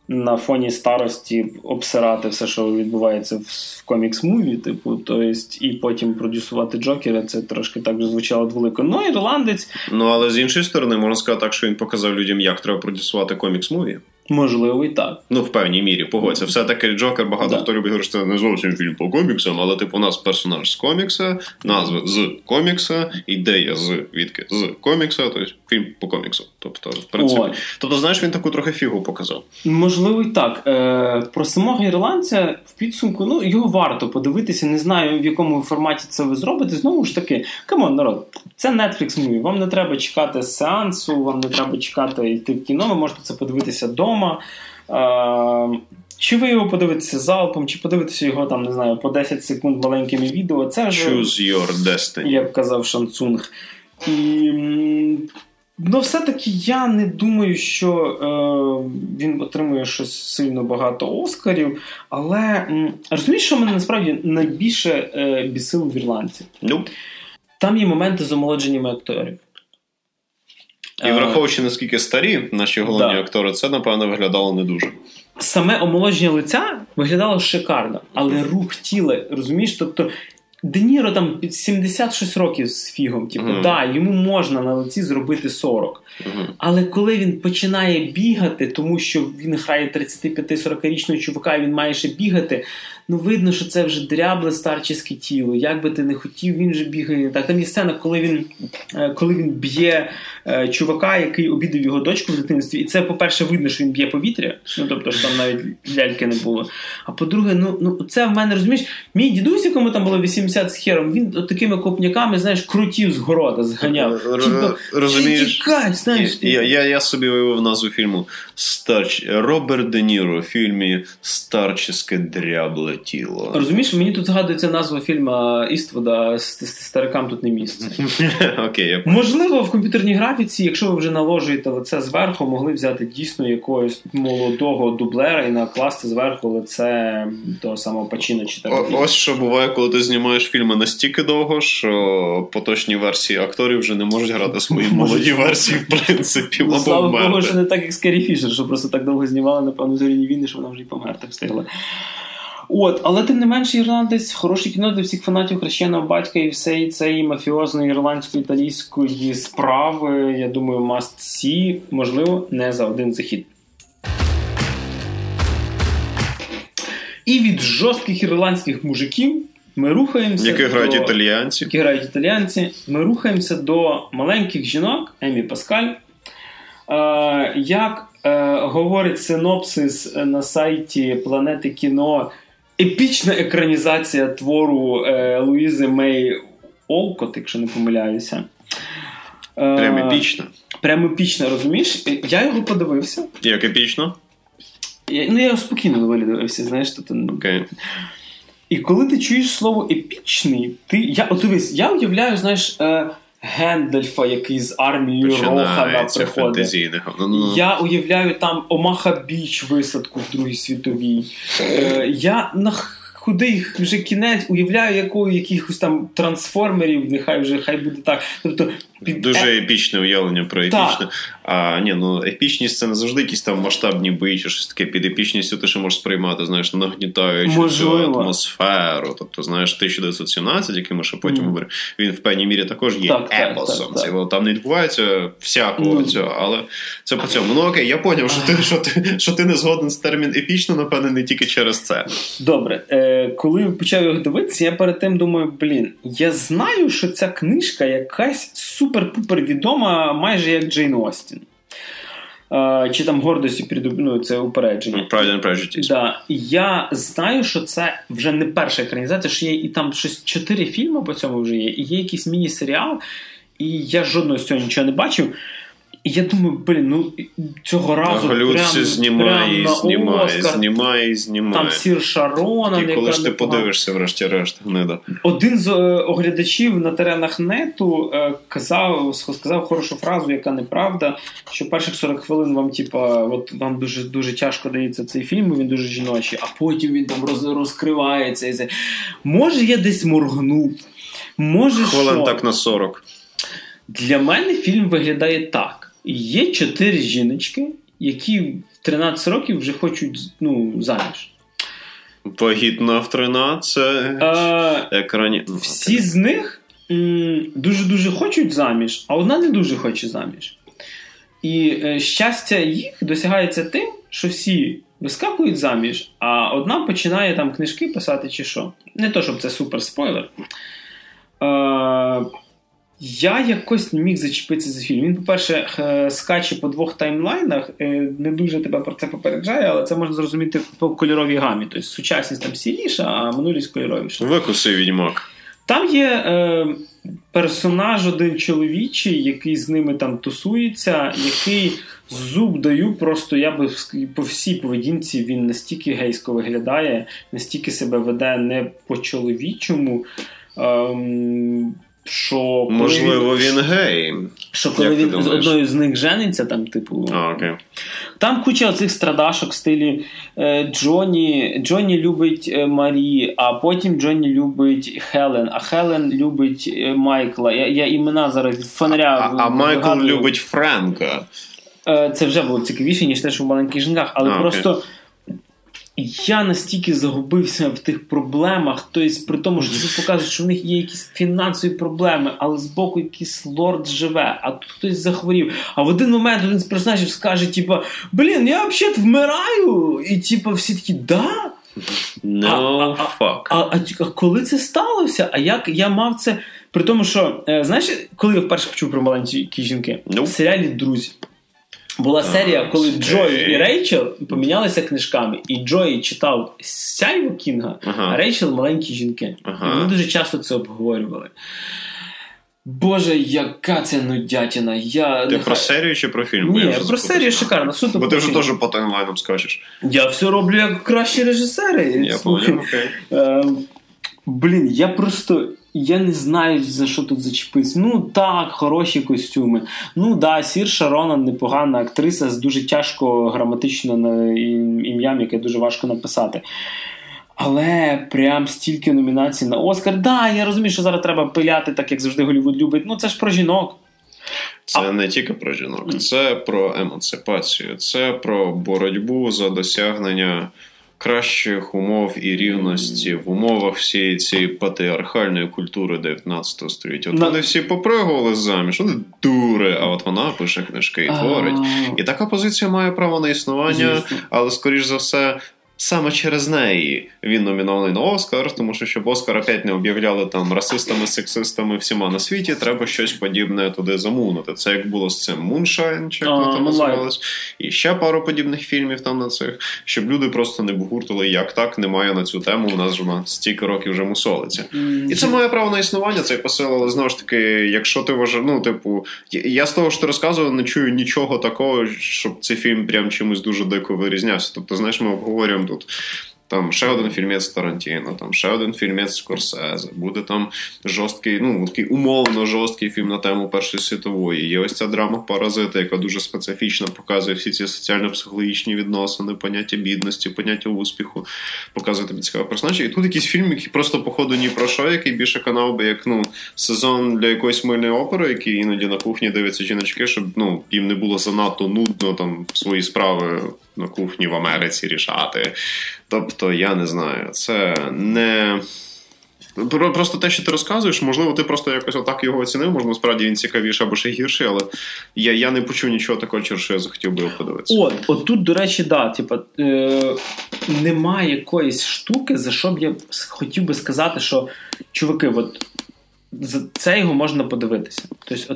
на фоні старості обсирати все, що відбувається в комікс-муві, типу, то есть, і потім продюсувати Джокера, це трошки так же звучало дволико. Ну, ірландець... Ну, але з іншої сторони, можна сказати так, що він показав людям, як треба продюсувати комікс-муві. Можливо, і так. Ну, в певній мірі, погодься. Все-таки Джокер, багато хто любить говорити, що це не зовсім фільм по коміксам, але, типу, у нас персонаж з комікса, назва з комікса, ідея звідки з комікса, тобто фільм по коміксу. Тобто, в принципі. Тобто, знаєш, він таку трохи фігу показав. Можливо, і так. Про самого ірландця в підсумку, ну, його варто подивитися, не знаю, в якому форматі це ви зробите. Знову ж таки, камон, народ, це Netflix-муві, вам не треба чекати сеансу, вам не треба чекати йти в кіно, ви можете це подивитися вдома. Чи ви його подивитеся залпом, чи подивитеся його, там, не знаю, по 10 секунд маленькими відео, це вже... Choose your destiny. Як казав Шансунг. І... Ну, все-таки я не думаю, що він отримує щось сильно багато Оскарів, але розумієш, що мене насправді найбільше бісило в ірландці? Там є моменти з омолодженнями акторів. І враховуючи, наскільки старі наші головні актори, це, напевно, виглядало не дуже. Саме омолодження лиця виглядало шикарно, але рух тіла, розумієш, тобто Де Ніро там під 76 років з фігом, типу, йому можна на лиці зробити 40. Але коли він починає бігати, тому що він грає 35-40-річного чувака, і він має ще бігати, ну видно, що це вже дрябле старчеське тіло. Як би ти не хотів, він же бігає. Так, там є сцена, коли він б'є чувака, який обідав його дочку в дитинстві. І це, по-перше, видно, що він б'є повітря. Ну, тобто, що там навіть ляльки не було. А по-друге, ну це в мене, розумієш, мій дідусь, якому там було 80 з хером, він от такими копняками, знаєш, крутів з города зганяв. Розумієш? Я собі уявив назву фільму Роберт Де Ніро в фільмі «Старческе дрябле тіло». Розумієш, мені тут згадується назва фільму Іствуда «Старикам тут не місце». Окей. Можливо, в комп'ютерній графіці, якщо ви вже наложуєте лице зверху, могли взяти дійсно якогось молодого дублера і накласти зверху лице того самого Пачіно чи Тарантіно. Ось що буває, коли ти знімаєш фільми настільки довго, що поточні версії акторів вже не можуть грати свої молоді версії, в принципі, або слава Богу, що не так, як з Керрі Фішер, що просто так довго знімали, напевно, «Зоряні війни», що вона вже й померти встигла. Але тим не менше, ірландець, хороше кіно для всіх фанатів хрещеного батька і всієї цієї мафіозної ірландсько-італійської справи, я думаю, must see, можливо, не за один захід. І від жорстких ірландських мужиків ми рухаємося які грають італіянці. Ми рухаємося до маленьких жінок, Емі Паскаль. Як говорить синопсис на сайті Планети кіно, епічна екранізація твору Луїзи Мей Олкот, якщо не помиляюся. Прям епічна, розумієш? Я його подивився. Як епічно? Я його спокійно доволі дивився, знаєш. Окей. І коли ти чуєш слово епічний, я уявляю, знаєш, Гендальфа, який з армією Рохана приходить. Я уявляю там Омаха Біч висадку в Другій світовій. Я на худий вже кінець уявляю якихось там трансформерів, хай буде так. Тобто, дуже епічне уявлення про епічне. Епічність це не завжди якісь там масштабні бої чи щось таке. Під епічністю ти ще можеш сприймати, знаєш, нагнітаючи цю атмосферу. Тобто, знаєш, 1917, який ми ще потім говоримо, він в певній мірі також є епосом. Там не відбувається всякого цього, але це по цьому. Ну окей, я поняв, що ти не згоден з термін епічно, напевне, не тільки через це. Добре. Коли почав його дивитися, я перед тим думаю, я знаю, що ця книжка якась супер-пупер відома, майже як Джейн Остін. Чи там «Гордость і це упередження. Pride and Prejudice. Да. Я знаю, що це вже не перша екранізація, що є і там щось 4 фільми по цьому вже є, і є якийсь міні-серіал, і я жодного з цього нічого не бачив. І я думаю, цього разу Голлівуд знімає. Там Сір Шаронан. І коли ж ти подивишся, врешті-решт, гнида. Один з оглядачів на теренах нету сказав хорошу фразу, яка неправда, що перших 40 хвилин вам, вам дуже, дуже тяжко дається цей фільм, він дуже жіночий, а потім він там розкривається. Може, я десь моргнув. Може, хвилин так на 40. Для мене фільм виглядає так. Є 4 жіночки, які в 13 років вже хочуть заміж. Вагітна в 13. Всі з них дуже-дуже хочуть заміж, а одна не дуже хоче заміж. І щастя їх досягається тим, що всі вискакують заміж, а одна починає там книжки писати чи що. Не то, щоб це супер спойлер. Я якось не міг зачепитися за фільм. Він, по-перше, скаче по 2 таймлайнах, не дуже тебе про це попереджає, але це можна зрозуміти по кольоровій гамі. Тобто сучасність там сіріша, а минулість кольоровіша. Викуси, відьмак. Там є персонаж один чоловічий, який з ними там тусується, який зуб даю, просто я би по всій поведінці він настільки гейсько виглядає, настільки себе веде не по-чоловічому, що... Можливо, він гей. Що коли він з одною з них жениться, там, типу... окей. Там куча оцих страдашок в стилі Джонні любить Марі, а потім Джонні любить Хелен, а Хелен любить Майкла. Я імена зараз від фонаря... А Майкл любить Френка. Це вже було цікавіше, ніж те, що в «Маленьких жінках», але просто... Я настільки загубився в тих проблемах, тобто при тому, що тобі показують, що в них є якісь фінансові проблеми, але збоку якийсь лорд живе, а тут хтось захворів. А в один момент один з персонажів скаже, типа, блін, я взагалі вмираю, і типа всі такі, да? Fuck. А коли це сталося? А як я мав це? При тому, що, знаєш, коли я вперше почув про «Маленькі жінки»? В серіалі «Друзі». Була серія, коли Джой і Рейчел помінялися книжками, і Джой читав «Сяйво» Кінга, а Рейчел «Маленькі жінки». І вони дуже часто це обговорювали. Боже, яка це нудятіна. Ти про серію чи про фільм? Ні, про серію шикарно. Бо ти вже теж по таймлайнам скачеш. Я все роблю як кращі режисери. Я понял, окей. Блін, я не знаю, за що тут зачепитися. Ну так, хороші костюми. Ну да, Сірша Ронан непогана актриса з дуже тяжко граматичним ім'ям, яке дуже важко написати. Але прям стільки номінацій на Оскар. Да, я розумію, що зараз треба пиляти, так як завжди Голлівуд любить. Ну це ж про жінок. Це не тільки про жінок. Це про емансипацію. Це про боротьбу за досягнення кращих умов і рівності в умовах всієї цієї патріархальної культури 19 століття. От вони всі попригували заміж, вони дури, а от вона пише книжки і творить. І така позиція має право на існування, але, скоріш за все, саме через неї він номінований на Оскар, тому що, щоб Оскар опять не об'являли там расистами, сексистами всіма на світі, треба щось подібне туди замунути. Це як було з цим Moonshine, чи як там називалось, і ще пару подібних фільмів там на цих, щоб люди просто не бугуртили, як так, немає на цю тему, у нас ж вона стільки років вже мусолиться. І це має право на існування, цей посил, але знову ж таки, якщо ти вважаєш, ну, типу, я з того, що ти розказував, не чую нічого такого, щоб цей фільм прям чимось дуже дико вирізнявся. Тобто, знаєш, ми обговорюємо тут там ще один фільмець Тарантіно, там ще один фільмець Скорсезе, буде там жорсткий, ну, такий умовно жорсткий фільм на тему Першої світової. Є ось ця драма «Паразити», яка дуже специфічно показує всі ці соціально-психологічні відносини, поняття бідності, поняття успіху, показує тобі цікаві персонажі. І тут якийсь фільм, який просто, походу, ні про що, який більше канав би як, ну, сезон для якоїсь мильної опери, який іноді на кухні дивляться жіночки, щоб, ну, їм не було занадто нудно там свої справи на кухні в Америці рішати. Тобто, я не знаю, це не... Просто те, що ти розказуєш, можливо, ти просто якось отак його оцінив, можливо, справді він цікавіший або ще гірший, але я не почув нічого такого, через що я захотів би його подивитися. От тут, до речі, да, типа, немає якоїсь штуки, за що б я хотів би сказати, що, чуваки, от, це його можна подивитися. Тобто,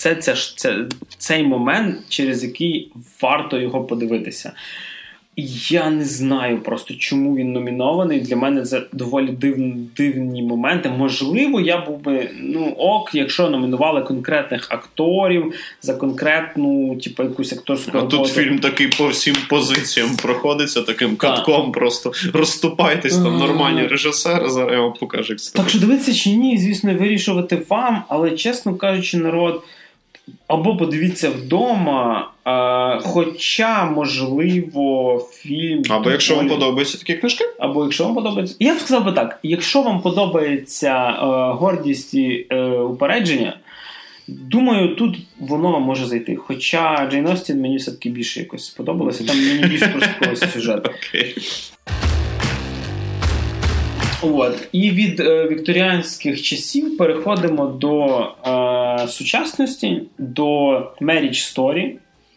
цей момент, через який варто його подивитися. Я не знаю просто, чому він номінований. Для мене це доволі дивні моменти. Можливо, я був би, якщо номінували конкретних акторів за конкретну, типу, якусь акторську роботу. А тут фільм такий по всім позиціям проходиться, таким катком просто розступайтесь, там нормальні режисери, зараз я вам покажу, як це. Так що дивитися чи ні, звісно, вирішувати вам, але, чесно кажучи, народ, або подивіться вдома, хоча, можливо, фільм... Або якщо вам подобаються такі книжки. Або якщо вам подобається... Я б сказав би так, якщо вам подобається «Гордість і упередження», Думаю, тут воно може зайти. Хоча Джейн Остін мені все-таки більше якось сподобалося. Там мені більше прослуховувався сюжет. От. І від вікторіанських часів переходимо до сучасності, до Marriage Story.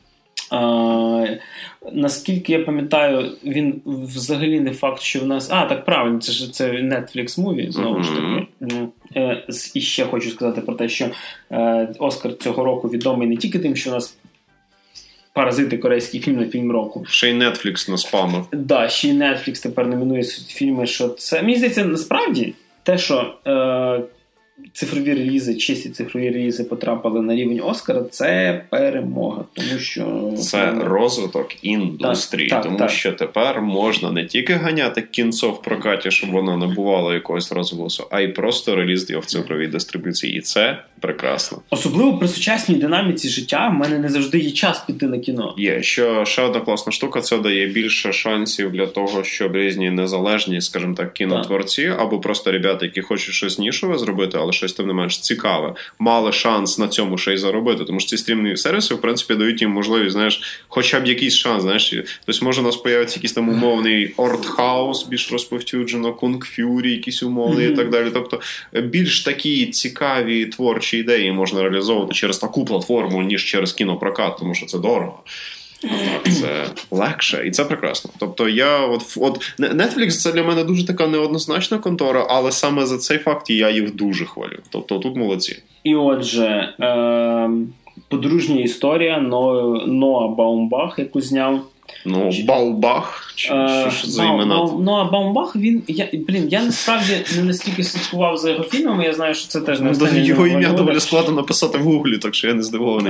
Наскільки я пам'ятаю, він взагалі не факт, що в нас... так, правильно, це Netflix муві, знову ж таки. І ще хочу сказати про те, що Оскар цього року відомий не тільки тим, що у нас «Паразити» корейський фільм на фільм року. Ще й Netflix наспамив. Да, ще й Netflix тепер номінує фільми, що це... Мені здається, насправді, те, що цифрові релізи, чисті цифрові релізи потрапили на рівень Оскара, це перемога. Тому що... Це розвиток індустрії. Тому що тепер можна не тільки ганяти кінцо в прокаті, щоб воно набувало якогось розголосу, а й просто реліз його в цифровій дистрибуції. І це прекрасно. Особливо при сучасній динаміці життя в мене не завжди є час піти на кіно. Є. Ще одна класна штука, це дає більше шансів для того, щоб різні незалежні, скажімо так, кінотворці, або просто ребята, які хочуть щось нішове зробити, але щось тим не менш цікаве, мали шанс на цьому ще й заробити. Тому що ці стрімні сервіси, в принципі, дають їм можливість, знаєш, хоча б якийсь шанс, знаєш. Тобто, може, у нас появиться якийсь там умовний артхаус, більш розповсюджено, кунг-фюрі, якісь умовні і так далі. Тобто, більш такі цікаві творчі ідеї можна реалізовувати через таку платформу, ніж через кінопрокат, тому що це дорого. Це легше, і це прекрасно. Тобто Netflix це для мене дуже така неоднозначна контора, але саме за цей факт я їх дуже хвалю. Тобто тут молодці. І отже, подружня історія Ноа Баумбах, яку зняв. Баумбах? Що за імена? Ноа Баумбах, я насправді не настільки слідкував за його фільмами, я знаю, що це теж не останнє. Його ім'я доволі складно написати в гуглі, так що я не здивований.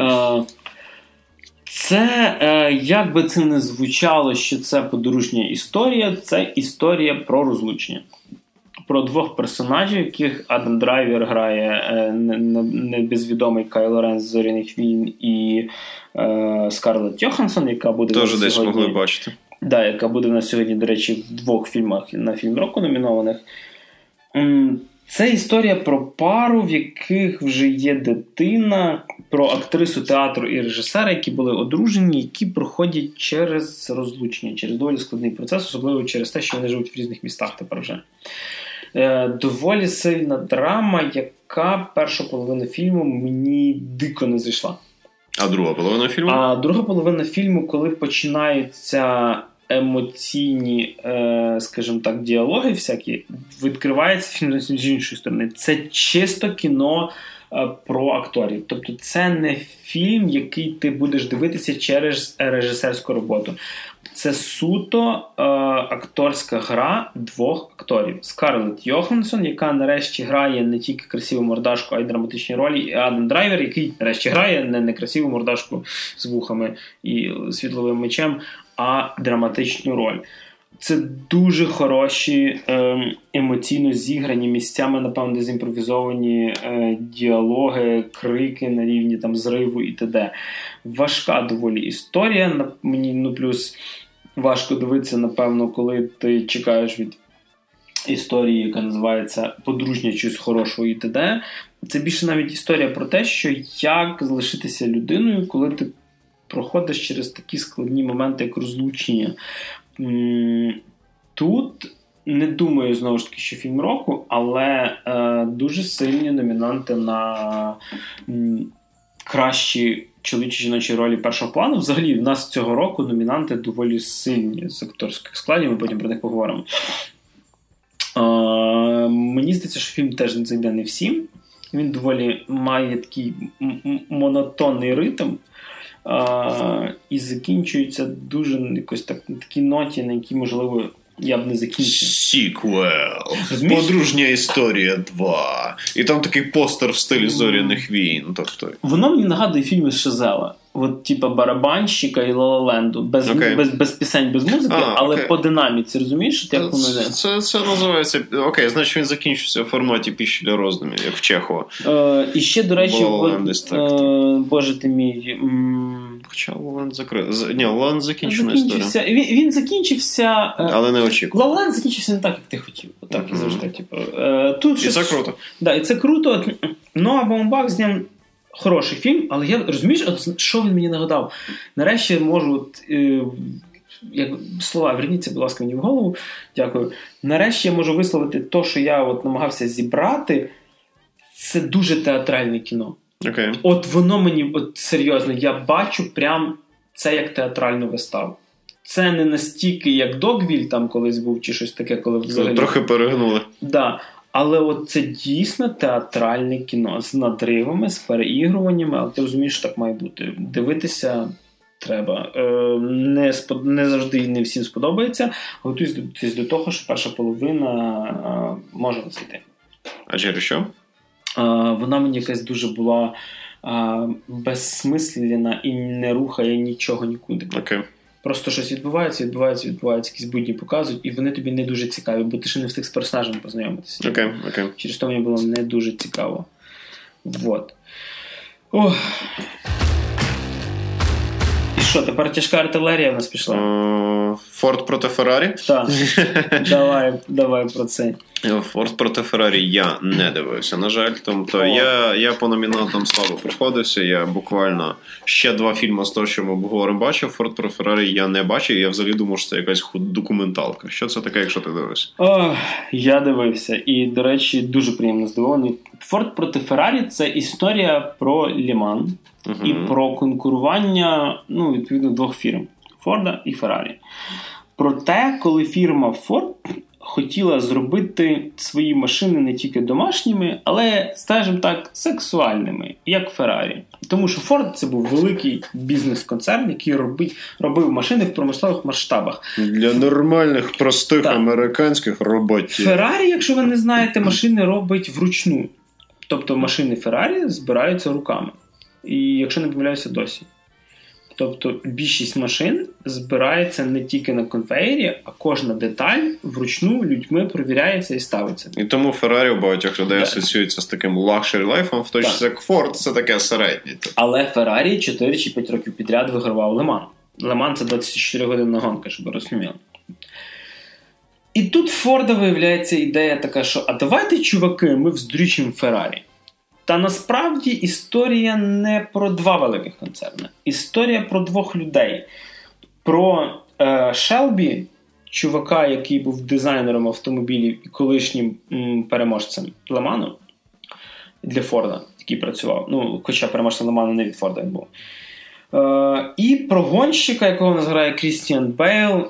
Це, як би це не звучало, що це подружня історія, це історія про розлучення. Про двох персонажів, яких Адам Драйвер грає небезвідомий Кайло Рен з «Зоряних війн» і Скарлетт Йоханссон, яка буде теж десь могли бачити. Да, яка буде в нас сьогодні, до речі, в 2 фільмах на фільм року номінованих. Це історія про пару, в яких вже є дитина, про актрису театру і режисера, які були одружені, які проходять через розлучення, через доволі складний процес, особливо через те, що вони живуть в різних містах тепер вже. Доволі сильна драма, яка першу половину фільму мені дико не зайшла. А друга половина фільму? А друга половина фільму, коли починаються емоційні, скажімо так, діалоги всякі, відкривається фільм з іншої сторони. Це чисто кіно про акторів. Тобто це не фільм, який ти будеш дивитися через режисерську роботу. Це суто акторська гра 2 акторів. Скарлетт Йоханссон, яка нарешті грає не тільки красиву мордашку, а й драматичні ролі, і Адам Драйвер, який нарешті грає не красиву мордашку з вухами і світловим мечем, а драматичну роль. Це дуже хороші, емоційно зіграні, місцями, напевно, дезімпровізовані діалоги, крики на рівні там зриву і т.д. Важка доволі історія. Мені, плюс важко дивитися, напевно, коли ти чекаєш від історії, яка називається «Подружня чогось хорошого» і т.д. Це більше навіть історія про те, що як залишитися людиною, коли ти проходиш через такі складні моменти, як розлучення. Тут не думаю, знову ж таки, що фільм року, але дуже сильні номінанти на кращі чоловічі жіночі ролі першого плану. Взагалі, в нас цього року номінанти доволі сильні з акторських складів, ми потім про них поговоримо. Мені здається, що фільм теж зайде не всім. Він доволі має такий монотонний ритм. І закінчується дуже якось так, на такій ноті, на якій, можливо, я б не закінчив. Сіквел. Подружня історія 2. І там такий постер в стилі «Зоряних війн». Тобто... Воно мені нагадує фільми з Шазела. От, типа «Барабанщика» і «Ла Ла Ленду». Без пісень, без музики, але по динаміці. Розумієш, як воно йде? Це називається... Окей, значить він закінчився в форматі «Піщі для роздумів», як в Чехова. І ще, до речі, боже ти мій... Хоча Лоланд закрив. Ні, Лоланд закінчена історія. Він закінчився... Але не очікував. Лоланд закінчився не так, як ти хотів. Так, і завжди. І це круто. Да, і це круто. Ноа Баумбах зняв хороший фільм, але я, розумієш, що він мені нагадав? Нарешті я можу, як слова, верніться, будь ласка, мені в голову, дякую. Нарешті я можу висловити те, що я намагався зібрати, це дуже театральне кіно. Okay. От воно мені, серйозно, я бачу прям це як театральну виставу. Це не настільки, як Догвіль там колись був, чи щось таке, коли взагалі... Трохи перегнули. Да. Але це дійсно театральне кіно з надривами, з переігруваннями, але ти розумієш, що так має бути. Дивитися треба. Не завжди і не всім сподобається. Готуйтесь до того, що перша половина може зайти. А через що? Вона мені якась дуже була безсмислена і не рухає нічого нікуди. Окей. Просто щось відбувається, якісь будні показують, і вони тобі не дуже цікаві, бо ти ще не встиг з персонажем познайомитися. Окей. Через то мені було не дуже цікаво. Вот. Ох. І що, тепер тяжка артилерія в нас пішла? Форд проти Феррарі? Так. Давай про це. Форд проти Феррарі я не дивився, на жаль. Тобто я по номінантам слабо приходився. Я буквально ще 2 фільми з того, що ми обговоримо, бачив. Форд проти Феррарі я не бачив. Я взагалі думав, що це якась документалка. Що це таке, якщо ти дивишся? Я дивився. І, до речі, дуже приємно здивований. Форд проти Феррарі – це історія про Лі-Ман і про конкурування, відповідно, 2 фірм. Форда і Феррарі. Про те, коли фірма Форд хотіла зробити свої машини не тільки домашніми, але, скажімо так, сексуальними, як Феррарі. Тому що Форд – це був великий бізнес-концерн, який робив машини в промислових масштабах. Для нормальних, простих американських роботів. Феррарі, якщо ви не знаєте, машини робить вручну. Тобто машини Феррарі збираються руками. І якщо не помиляюся, досі. Тобто більшість машин збирається не тільки на конвеєрі, а кожна деталь вручну людьми перевіряється і ставиться. І тому Феррарі у багатьох людей асоціюється з таким лакшері лайфом, в той час як Форд це таке середнє. Але Феррарі 4 чи 5 років підряд вигравав Ле-Ман. Ле-Ман – це 24-годинна гонка, щоб ви розуміли. І тут Форда виявляється ідея така, що а давайте, чуваки, ми вздрючимо Феррарі. Та насправді історія не про 2 великих концерни. Історія про 2 людей. Про Шелбі, чувака, який був дизайнером автомобілів і колишнім переможцем Ле-Ману для Форда, який працював. Хоча переможцем Ле-Ману не від Форда він був. І про гонщика, якого називає Крістіан Бейл,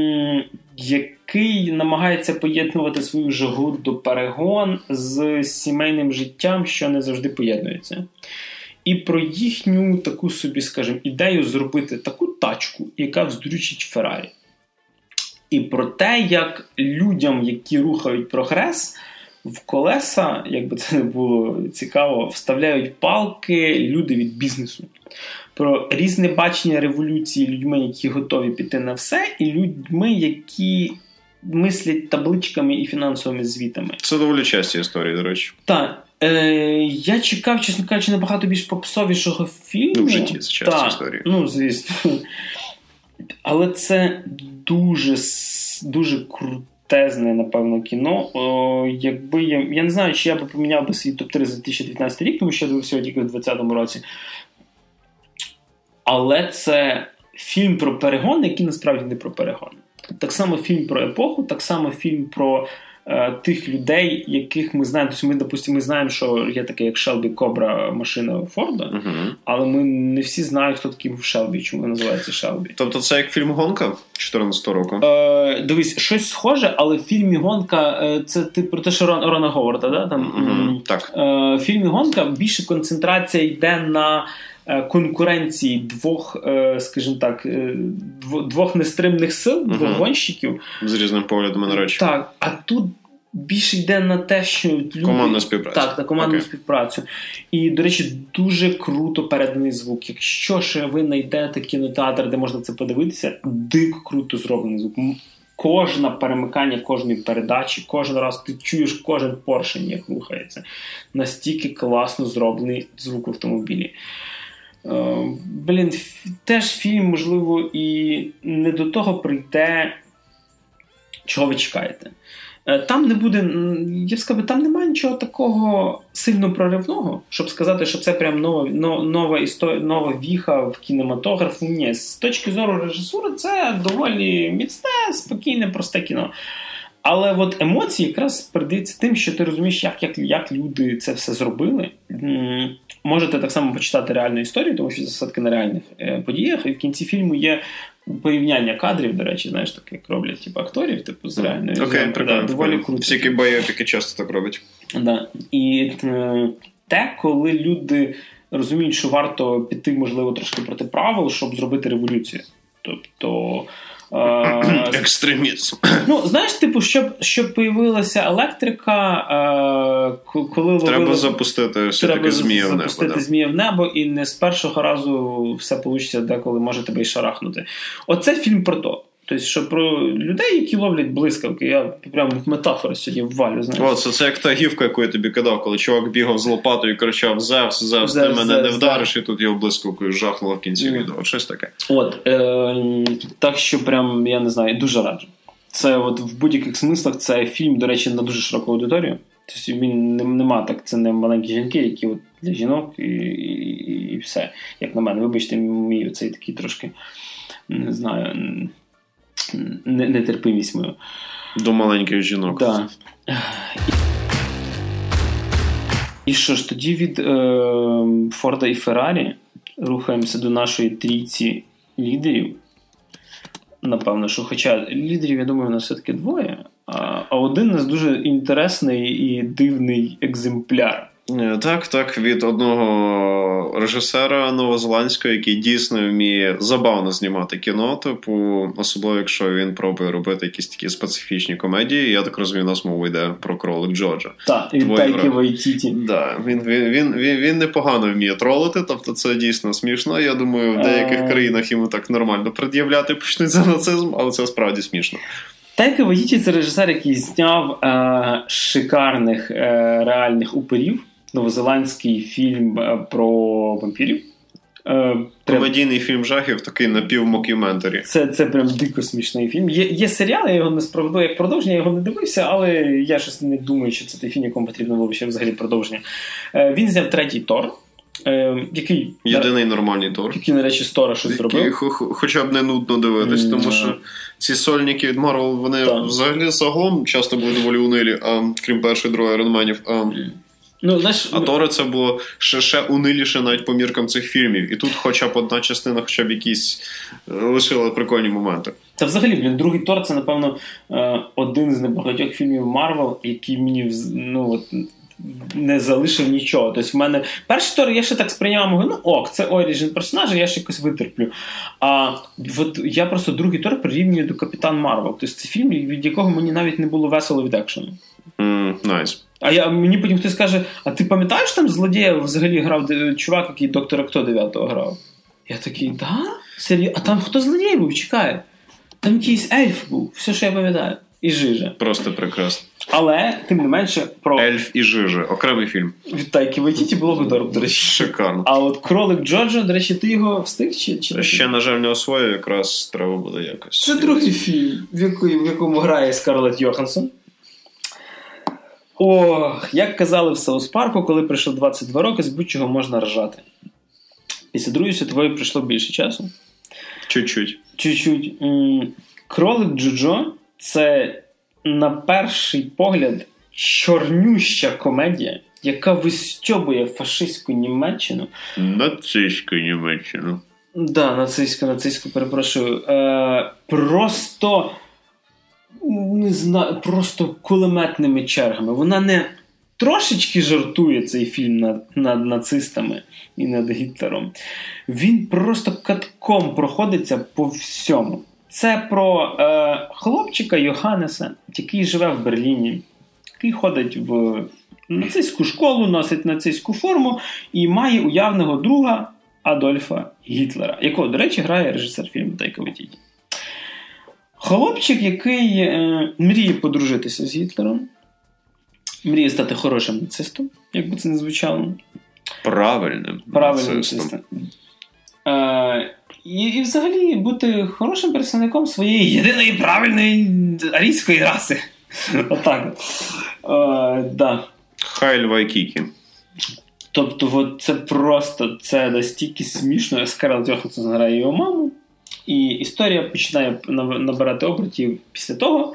який намагається поєднувати свою жагу до перегон з сімейним життям, що не завжди поєднується. І про їхню таку собі, скажімо, ідею зробити таку тачку, яка вздрючить Феррарі. І про те, як людям, які рухають прогрес, в колеса, якби це не було цікаво, вставляють палки люди від бізнесу. Про різне бачення революції людьми, які готові піти на все, і людьми, які мислять табличками і фінансовими звітами. Це доволі часті історії, до речі. Так. Я чекав, чесно кажучи, набагато більш попсовішого фільму. В житті це часті історії. Звісно. Але це дуже крутезне, напевно, кіно. Якби я не знаю, чи я би поміняв би свій топ-3 за 2019 рік, тому що я дивився його тільки в 2020 році. Але це фільм про перегон, який насправді не про перегон. Так само фільм про епоху, так само фільм про тих людей, яких ми знаємо. Тобто ми, допустимо, ми знаємо, що є таке, як Шелбі Кобра, машина Форда, але ми не всі знають, хто такий був Шелбі, чому називається Шелбі. Тобто це як фільм «Гонка» 2014 року? Дивись, щось схоже, але в фільмі «Гонка» це ти про те, що Рона Говарда, да? Так. В фільмі «Гонка» більше концентрація йде на конкуренції 2, скажімо так, 2 нестримних сил, 2 гонщиків. З різним поглядом на речі. Так, а тут більше йде на те, що люди... Командна співпраця. Так, на командну співпрацю. І, до речі, дуже круто переданий звук. Якщо ще ви знайдете кінотеатр, де можна це подивитися, дико круто зроблений звук. Кожне перемикання кожної передачі, кожен раз ти чуєш кожен поршень, як рухається. Настільки класно зроблений звук в автомобілі. Теж фільм, можливо, і не до того прийде, чого ви чекаєте. Там не буде, я б сказав, там немає нічого такого сильно проривного, щоб сказати, що це прям нова історія, нова віха в кінематографу. Ні, з точки зору режисури це доволі міцне, спокійне, просте кіно. Але от емоції якраз передаються тим, що ти розумієш, як люди це все зробили. Можете так само почитати реальну історію, тому що засадки на реальних подіях. І в кінці фільму є порівняння кадрів, до речі, знаєш, так як роблять акторів, з реальною. Окей, прикольно. Доволі круто. Всякі байопіки часто так роблять. Да. І те, коли люди розуміють, що варто піти, можливо, трошки проти правил, щоб зробити революцію. Тобто... екстремізм. Знаєш, щоб появилася електрика, коли треба запустити все-таки змія в небо. Змія в небо, і не з першого разу все вийде, деколи може тебе і шарахнути. Оце фільм про то. Тобто, що про людей, які ловлять блискавки. Я прямо метафори сьогодні ввалю. Це як та гівка, яку я тобі кидав, коли чувак бігав з лопатою і кричав: Зевс, ти мене не вдариш, і тут його блискавкою жахнуло в кінці відео. Щось таке. Так що прям, я не знаю, дуже раджу. Це в будь-яких смислах це фільм, до речі, на дуже широку аудиторію. Тобто він нема так, це не маленькі жінки, які для жінок і все. Як на мене, вибачте, мій оцей такий трошки, не знаю... нетерпимість мою. До маленьких жінок. Да. І що ж, тоді від Форда і Феррарі рухаємося до нашої трійці лідерів. Напевно, що хоча лідерів, я думаю, у нас все-таки двоє, а один у нас дуже інтересний і дивний екземпляр. Так, від одного режисера новозеландського, який дійсно вміє забавно знімати кіно, особливо якщо він пробує робити якісь такі специфічні комедії. Я так розумію, у нас мова йде про «Кролик Джорджа». Так, від Тайки Вайтіті. Так, він непогано вміє тролити, тобто це дійсно смішно. Я думаю, в деяких країнах йому так нормально пред'являти почнуть за нацизм, але це справді смішно. Тайка Вайтіті – це режисер, який зняв шикарних реальних упирів. Новозеландський фільм про вампірів. Комедійний фільм жахів, такий напівмокюментарі. Це прям дико смішний фільм. Є серіал, я його не справедливо як продовження, я його не дивився, але я щось не думаю, що це той фільм, якому потрібно було ще взагалі продовження. Він зняв третій Тор. Який єдиний нормальний Тор. Який, на речі, з Тора щось зробив. Хоча б не нудно дивитись, тому що ці сольники від Марвел, вони взагалі загалом часто були доволі унилі, крім першої, другої Айронменів. А Тори це було ще униліше навіть по міркам цих фільмів. І тут хоча б одна частина, хоча б якісь лишила прикольні моменти. Та взагалі, другий Тор це, напевно, один з небагатьох фільмів Марвел, який мені не залишив нічого. Тобто в мене перший Тор я ще так сприйняв, це оріджин персонажа, я ще якось витерплю. А я просто другий Тор прирівнюю до Капітан Марвел. Тобто це фільм, від якого мені навіть не було весело від екшену. Найс. Мені потім хтось каже: а ти пам'ятаєш, там злодія взагалі грав чувак, який Доктора Хто 9-го грав? Я такий, да? Серйозно? А там хто злодій був? Чекає. Там якийсь ельф був, все, що я пам'ятаю. І Жижа. Просто прекрасно. Але, тим не менше, про... Ельф і Жижа. Окремий фільм. Від Тайки Вайтіті було б добре, до речі. Шикарно. А от Кролик Джорджа, до речі, ти його встиг? Чи ще, на жаль, не освоїв, якраз треба буде якось. Це другий фільм, в якому грає Скарлетт Йоханссон. Як казали в Саус Парку, коли пройшло 22 роки, з будь-чого можна ржати. Після Другої світової пройшло більше часу. Чуть-чуть. Кролик Джоджо – це, на перший погляд, чорнюща комедія, яка вистьобує фашистську Німеччину. Нацистську Німеччину. Да, нацистську, перепрошую. Просто... не знаю, просто кулеметними чергами. Вона не трошечки жартує, цей фільм, над нацистами і над Гітлером. Він просто катком проходиться по всьому. Це про хлопчика Йоханнеса, який живе в Берліні, який ходить в нацистську школу, носить нацистську форму і має уявного друга Адольфа Гітлера, якого, до речі, грає режисер фільму Тайка Вайтіті. Хлопчик, який мріє подружитися з Гітлером, мріє стати хорошим нацистом, як би це не звучало. Правильним нацистом. І взагалі бути хорошим представником своєї єдиної правильної арійської раси. Отак. Да. Хайль Вайкікі. Тобто, от це просто, це настільки смішно. Скарлетт Йоханссон грає його маму, і історія починає набирати обертів після того,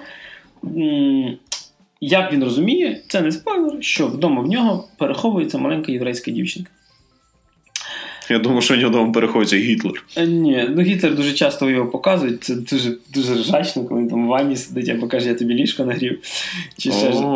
як він розуміє, це не спойлер, що вдома в нього переховується маленька єврейська дівчинка. Я думаю, що в нього вдома переховується Гітлер. Ні, Гітлер дуже часто його показують, це дуже, дуже ржачно, коли він там в ванні сидить, або каже, я тобі ліжко нагрів. Чи ще ж.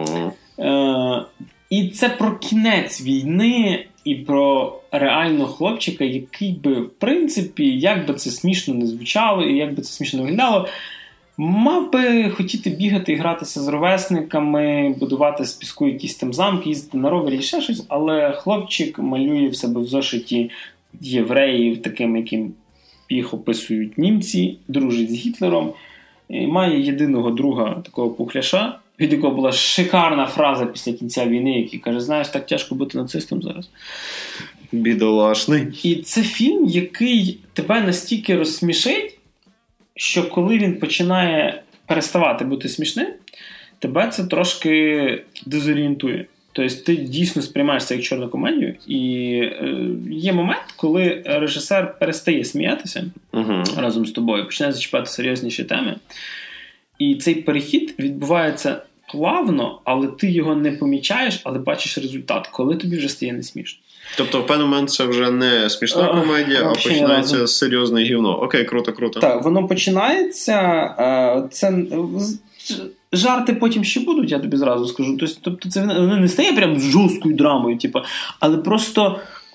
І це про кінець війни і про реального хлопчика, який би, в принципі, як би це смішно не звучало і як би це смішно не виглядало, мав би хотіти бігати і гратися з ровесниками, будувати з піску якісь там замки, їздити на ровері і ще щось, але хлопчик малює в себе в зошиті євреїв, таким, яким їх описують німці, дружить з Гітлером, і має єдиного друга, такого пухляша, від якого була шикарна фраза після кінця війни, який каже, знаєш, так тяжко бути нацистом зараз. Бідолашний. І це фільм, який тебе настільки розсмішить, що коли він починає переставати бути смішним, тебе це трошки дезорієнтує. Тобто ти дійсно сприймаєш це як чорну комедію, і є момент, коли режисер перестає сміятися разом з тобою, починає зачіпати серйозніші теми, і цей перехід відбувається плавно, але ти його не помічаєш, але бачиш результат, коли тобі вже стає не смішно. Тобто в певний момент це вже не смішна комедія, а починається серйозне гівно. Окей, круто. Так, воно починається, це жарти потім ще будуть, я тобі зразу скажу. Тобто це не стає прям жорсткою драмою, але просто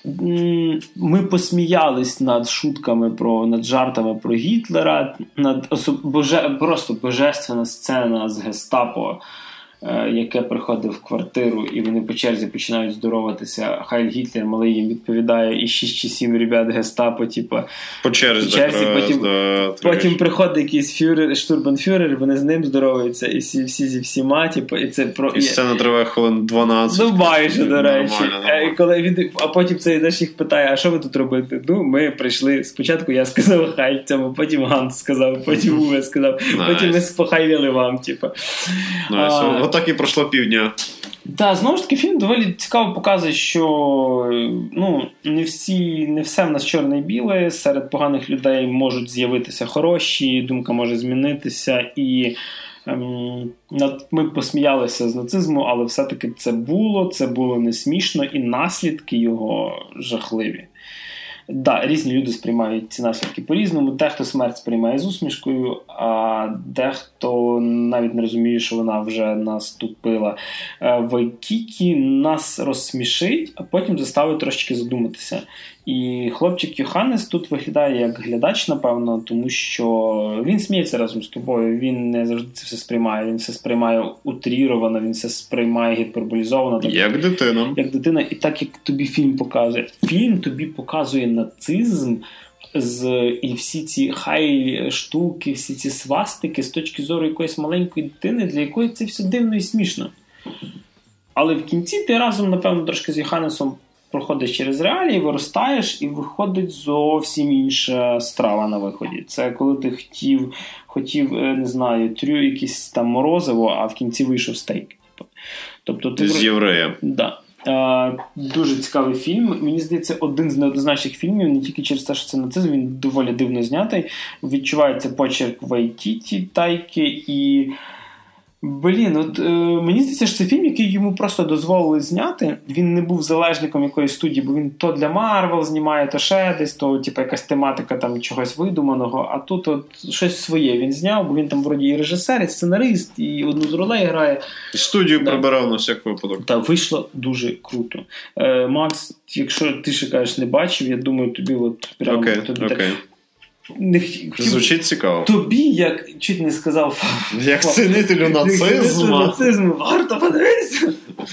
ми над шутками, над жартами про Гітлера, просто божественна сцена з гестапо, яке приходить в квартиру, і вони по черзі починають здороватися. Хайль Гітлер, малий їм відповідає, і 6 чи 7 ребят гестапо, по черзі потім приходить якийсь штурбанфюрер, вони з ним здороваються, і всі зі всіма, і це про... І сцена триває хвилин 12. Ну, майже, до речі. А потім цей їх питає, а що ви тут робите? Ну, ми прийшли, спочатку я сказав хай цьому, потім Ганс сказав, потім Уве сказав, потім ми спохайвіли вам, Отак і пройшло півдня. Так, знову ж таки, фільм доволі цікаво показує, що не все в нас чорне і біле, серед поганих людей можуть з'явитися хороші, думка може змінитися, і ми посміялися з нацизму, але все-таки це було не смішно, і наслідки його жахливі. Да, різні люди сприймають ці наслідки по-різному. Дехто смерть сприймає з усмішкою, а дехто навіть не розуміє, що вона вже наступила. Вайкікі нас розсмішить, а потім заставить трошечки задуматися. І хлопчик Йоханнес тут виглядає як глядач, напевно, тому що він сміється разом з тобою, він не завжди це все сприймає, він все сприймає утріровано, він все сприймає гіперболізовано. Як дитина. Як дитина, і так, як тобі фільм показує. Фільм тобі показує нацизм і всі ці хай-штуки, всі ці свастики з точки зору якоїсь маленької дитини, для якої це все дивно і смішно. Але в кінці ти разом, напевно, трошки з Йоханнесом проходиш через реалії, виростаєш, і виходить зовсім інша страва на виході. Це коли ти хотів, не знаю, якісь там морозиво, а в кінці вийшов стейк. Тобто ти з єврея. Да. Дуже цікавий фільм. Мені здається, один з неоднозначних фільмів, не тільки через те, що це нацизм, він доволі дивно знятий. Відчувається почерк Вайтіті, Тайки і... мені здається, що це фільм, який йому просто дозволили зняти. Він не був залежником якоїсь студії, бо він то для Марвел знімає, то ще десь, то якась тематика там чогось видуманого, а тут щось своє він зняв, бо він там вроді і режисер, і сценарист, і одну з ролей грає. Студію прибирав на всяк випадок. Так, вийшло дуже круто. Макс, якщо ти ще кажеш, не бачив, я думаю, тобі прямо... Окей. Звучить цікаво. Тобі, як чуть не сказав, як цінителю нацизму, варто подивитися.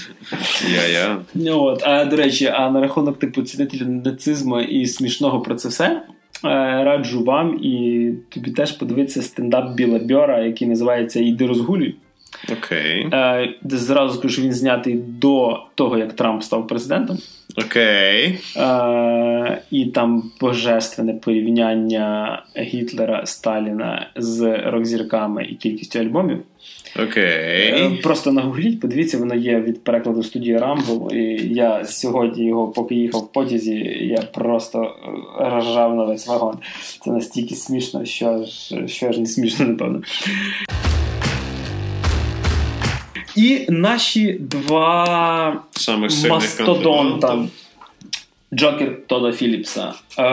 Я. До речі, на рахунок цінителю нацизму і смішного про це все, раджу вам і тобі теж подивитися стендап Біла Бьора, який називається «Іди розгулюй». Окей. Зразу скажу, що він знятий до того, як Трамп став президентом. Окей. І там божественне порівняння Гітлера, Сталіна з рок-зірками і кількістю альбомів. Окей. Просто нагугліть, подивіться, воно є від перекладу студії Rumble. І я сьогодні його, поки їхав в потязі, я просто ржав на весь вагон. Це настільки смішно, що ж не смішно, напевно. І наші два мастодонта. Джокер Тодда Філіпса.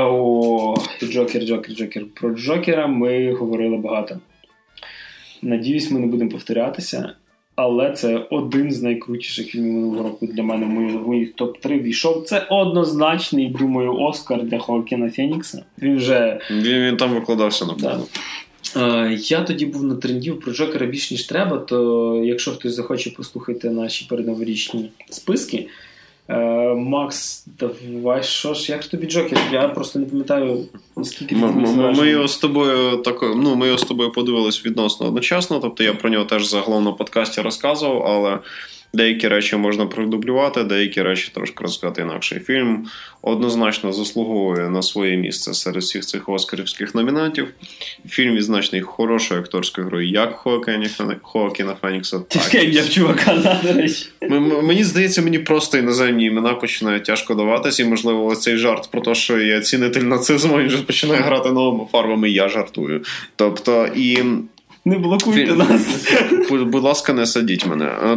Джокер. Про Джокера ми говорили багато. Надіюсь, ми не будемо повторятися, але це один з найкрутіших фільмів минулого року для мене. В моїх топ-3 війшов. Це однозначний, думаю, Оскар для Хоакіна Фенікса. Він там викладався, напевно. Я тоді був на трендів про Джокера більш ніж треба, то якщо хтось захоче послухати наші передноворічні списки, Макс, давай, як ж тобі Джокер? Я просто не пам'ятаю, наскільки ми його з тобою подивились відносно одночасно, тобто я про нього теж загалом на подкасті розказував, але деякі речі можна продублювати, деякі речі трошки розказати інакше. Фільм однозначно заслуговує на своє місце серед всіх цих оскарівських номінантів. Фільм відзначений хорошою акторською грою як Хоакіна Фенікса, так. Я в чувака, до речі. Мені здається, мені просто іноземні імена починають тяжко даватися, і, можливо, цей жарт про те, що я цінитель нацизму, він вже починає грати новими фарбами, і я жартую. Тобто, і... Не блокуйте нас. Будь ласка, не садіть мене.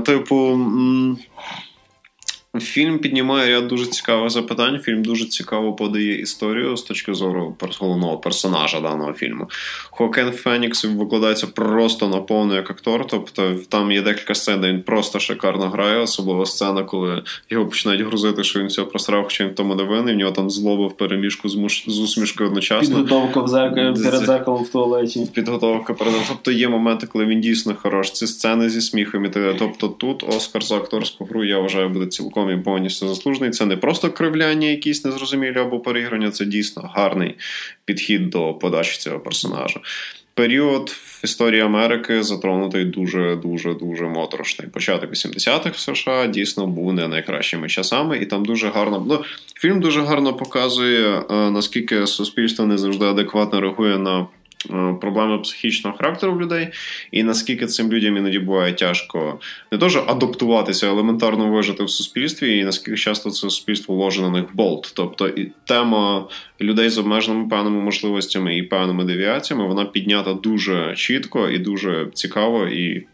Фільм піднімає ряд дуже цікавих запитань. Фільм дуже цікаво подає історію з точки зору головного персонажа даного фільму. Хоакін Фенікс викладається просто наповну як актор. Тобто там є декілька сцен, де він просто шикарно грає. Особливо сцена, коли його починають грузити, що він все просрав, хоча він в тому не винний. В нього там злоба в переміжку з усмішкою одночасно. Підготовка перед зеркалом в туалеті. Тобто є моменти, коли він дійсно хорош. Ці сцени зі сміхом. Тобто тут Оскар за акторську гру, я вважаю, буде цілком і повністю заслужений. Це не просто кривляння якісь незрозумілі або переіграння, це дійсно гарний підхід до подачі цього персонажа. Період в історії Америки затронутий дуже моторошний. Початок 80-х в США дійсно був не найкращими часами, і там дуже гарно... фільм дуже гарно показує, наскільки суспільство не завжди адекватно реагує на проблеми психічного характеру в людей, і наскільки цим людям іноді буває тяжко не то, що адаптуватися, а елементарно вижити в суспільстві, і наскільки часто це суспільство ложе на них болт. Тобто і тема людей з обмеженими певними можливостями і певними девіаціями, вона піднята дуже чітко і дуже цікаво, і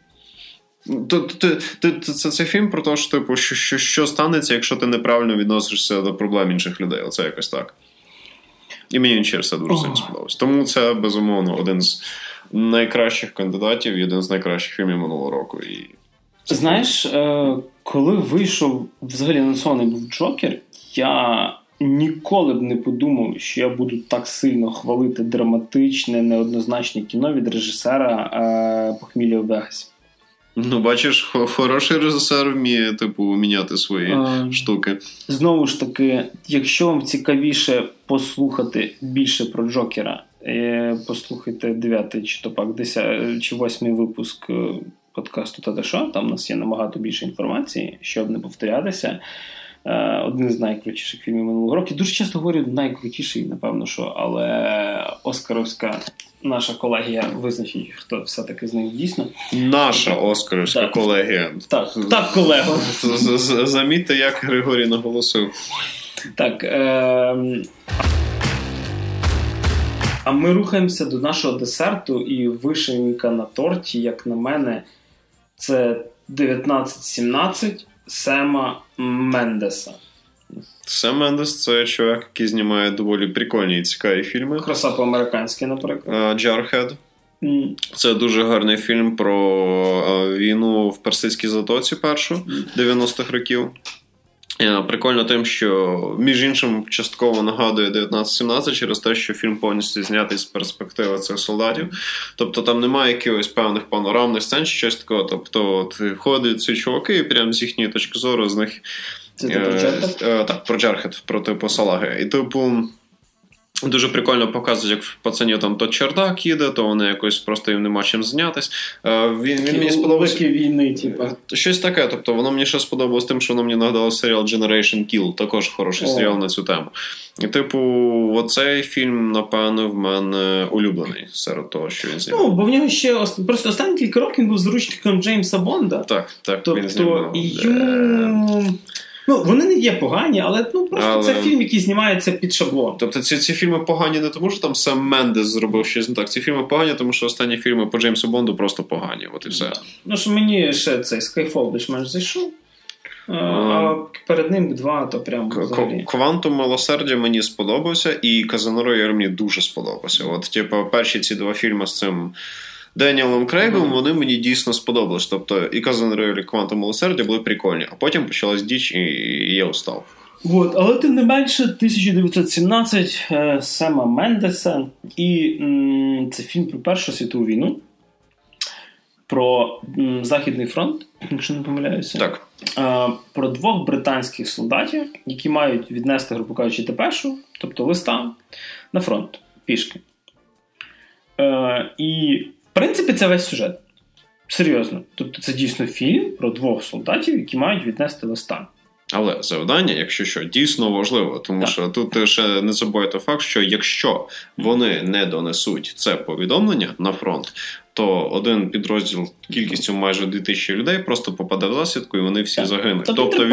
це фільм про те, що станеться, якщо ти неправильно відносишся до проблем інших людей. Оце якось так. І мені через це дуже сильно сподобалось. Тому це, безумовно, один з найкращих кандидатів і один з найкращих фільмів минулого року. Знаєш, коли вийшов, взагалі анонсований був Джокер, я ніколи б не подумав, що я буду так сильно хвалити драматичне, неоднозначне кіно від режисера «Похмілля у Вегасі». Бачиш, хороший режисер вміє, міняти свої штуки. Знову ж таки, якщо вам цікавіше послухати більше про Джокера, послухайте 9-й, чи то пак 10 чи 8-й випуск подкасту «Та що?». Там у нас є набагато більше інформації, щоб не повторятися. Один з найкрутіших фільмів минулого року. Дуже часто говорю найкрутіший, напевно, що, але оскаровська наша колегія визначить, хто все-таки з них дійсно. Наша оскаровська колегія. Так, колего. Замітьте, як Григорій наголосив. Так. А ми рухаємося до нашого десерту, і вишенька на торті, як на мене, це 1917 Сема Мендеса. Сем Мендес – це чувак, який знімає доволі прикольні і цікаві фільми. «Краса по-американськи», наприклад. «Jarhead». Це дуже гарний фільм про війну в Персидській затоці першу, 90-х років. Прикольно тим, що, між іншим, частково нагадує 1917 через те, що фільм повністю знятий з перспективи цих солдатів. Тобто там немає якихось певних панорамних сцен чи щось такого. Тобто ходять ці чуваки і прямо з їхньої точки зору з них... Це про Джархед? Так, про Джархед, про типу Салаги. І Дуже прикольно показують, як в пацанів там то чердак їде, то вони якось просто їм нема чим знятись. Він мені сподобався. Війни, типу. Щось таке, тобто воно мені ще сподобалось тим, що воно мені нагадало серіал Generation Kill, також хороший серіал на цю тему. І типу, оцей фільм, напевно, в мене улюблений серед того, що він знімав. Ну, бо в нього ще просто останні кілька років він був заручником Джеймса Бонда. Так, тобто, він знімав. Ну, вони не є погані, але просто це фільм, який знімається під шаблон. Тобто ці фільми погані не тому, що там Сем Мендес зробив щось не так. Ці фільми погані, тому що останні фільми по Джеймсу Бонду просто погані. От і все. Ну, що мені ще цей Skyfall більш-менш зайшов. А перед ним 2, то прям Квантум милосердя мені сподобався, і Казино Рояль мені дуже сподобався. От, типу, перші ці 2 фільми з цим Деніелом Крейгом, вони мені дійсно сподобались. Тобто і Казино Рояль, і Квантум милосердя були прикольні. А потім почалась діч, і я устав. От, але тим не менше, 1917 Сема Мендеса, і це фільм про Першу світову війну, про Західний фронт, якщо не помиляюся. Так. Про 2 британських солдатів, які мають віднести, грубо кажучи, депешу, тобто листа, на фронт, пішки. І, в принципі, це весь сюжет. Серйозно. Тобто це дійсно фільм про 2 солдатів, які мають віднести листа. Але завдання, якщо що, дійсно важливо, тому що тут ще не забувайте факт, що якщо вони не донесуть це повідомлення на фронт, то один підрозділ кількістю майже 2000 людей просто попаде в засідку і вони всі загинуть.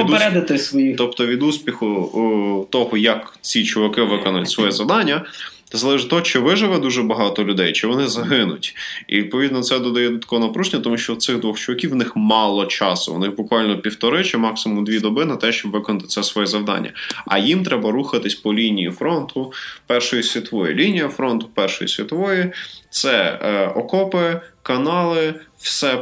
Тобто від успіху того, як ці чуваки виконують своє завдання, залежить того, чи виживе дуже багато людей, чи вони загинуть. І, відповідно, це додає додаткове напруження, тому що в цих 2 чуваків в них мало часу. У них буквально 1,5 чи максимум 2 доби на те, щоб виконати це своє завдання. А їм треба рухатись по лінії фронту Першої світової. Лінія фронту Першої світової – це окопи, канали, все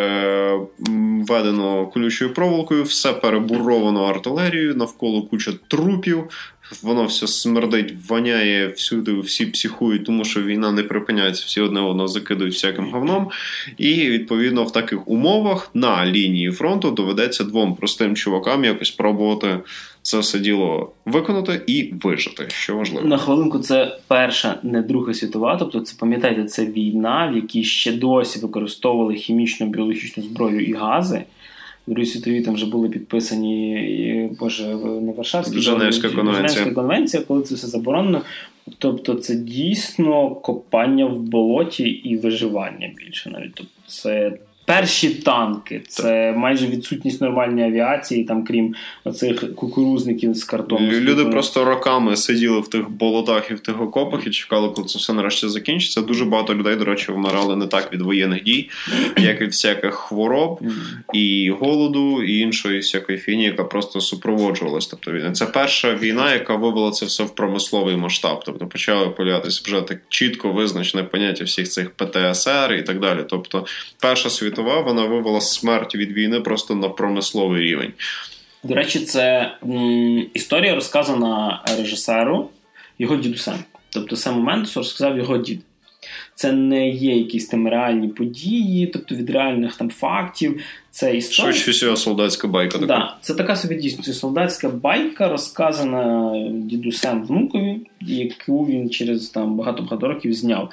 переведено колючою проволокою, все перебуровано артилерією, навколо куча трупів, воно все смердить, воняє всюди, всі психують, тому що війна не припиняється, всі одне одного закидують всяким говном. І, відповідно, в таких умовах на лінії фронту доведеться 2 простим чувакам якось пробувати це все діло виконати і вижити, що важливо. На хвилинку, це Перша, не Друга світова, тобто це, пам'ятаєте, це війна, в якій ще досі використовували хімічну, біологічну зброю і гази. В Другій світовій там вже були підписані, не Варшавські, Женевська конвенція, коли це все заборонено. Тобто це дійсно копання в болоті і виживання більше навіть. Тобто це перші танки, це майже відсутність нормальної авіації, там, крім оцих кукурузників з картону. Люди просто роками сиділи в тих болотах і в тих окопах і чекали, коли це все нарешті закінчиться. Дуже багато людей, до речі, вмирали не так від воєнних дій, як від всяких хвороб і голоду, і іншої всякої фігні, яка просто супроводжувалась. Тобто, це перша війна, яка вивела це все в промисловий масштаб. Тобто почали появлятися вже так чітко визначене поняття всіх цих ПТСР і так далі. Тобто Перша світова, вона вивела смерть від війни просто на промисловий рівень. До речі, це історія розказана режисеру його дідусем. Тобто Сему Мендесу розказав його дід. Це не є якісь там реальні події, тобто від реальних там фактів. Це історія. Швидше всього солдатська байка. Так, да, це така собі дійсно солдатська байка, розказана дідусем внукові, яку він через там багато-багато років зняв.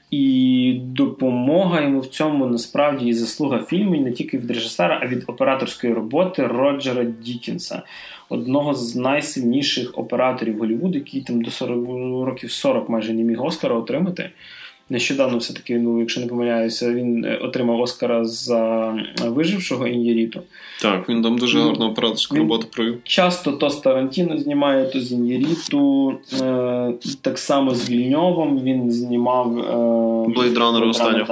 І допомога йому в цьому насправді і заслуга фільму не тільки від режисера, а від операторської роботи Роджера Дікінса, одного з найсильніших операторів Голлівуду, який там до 40 майже не міг Оскара отримати. Нещодавно все-таки, якщо не помиляюся, він отримав Оскара за «Вижившого» Ін'яріту. Так, він там дуже гарну операторську роботу провів. Часто то з Тарантіно знімає, то з Ін'яріту. Так само з Вільньовим він знімав Blade Runner останнього.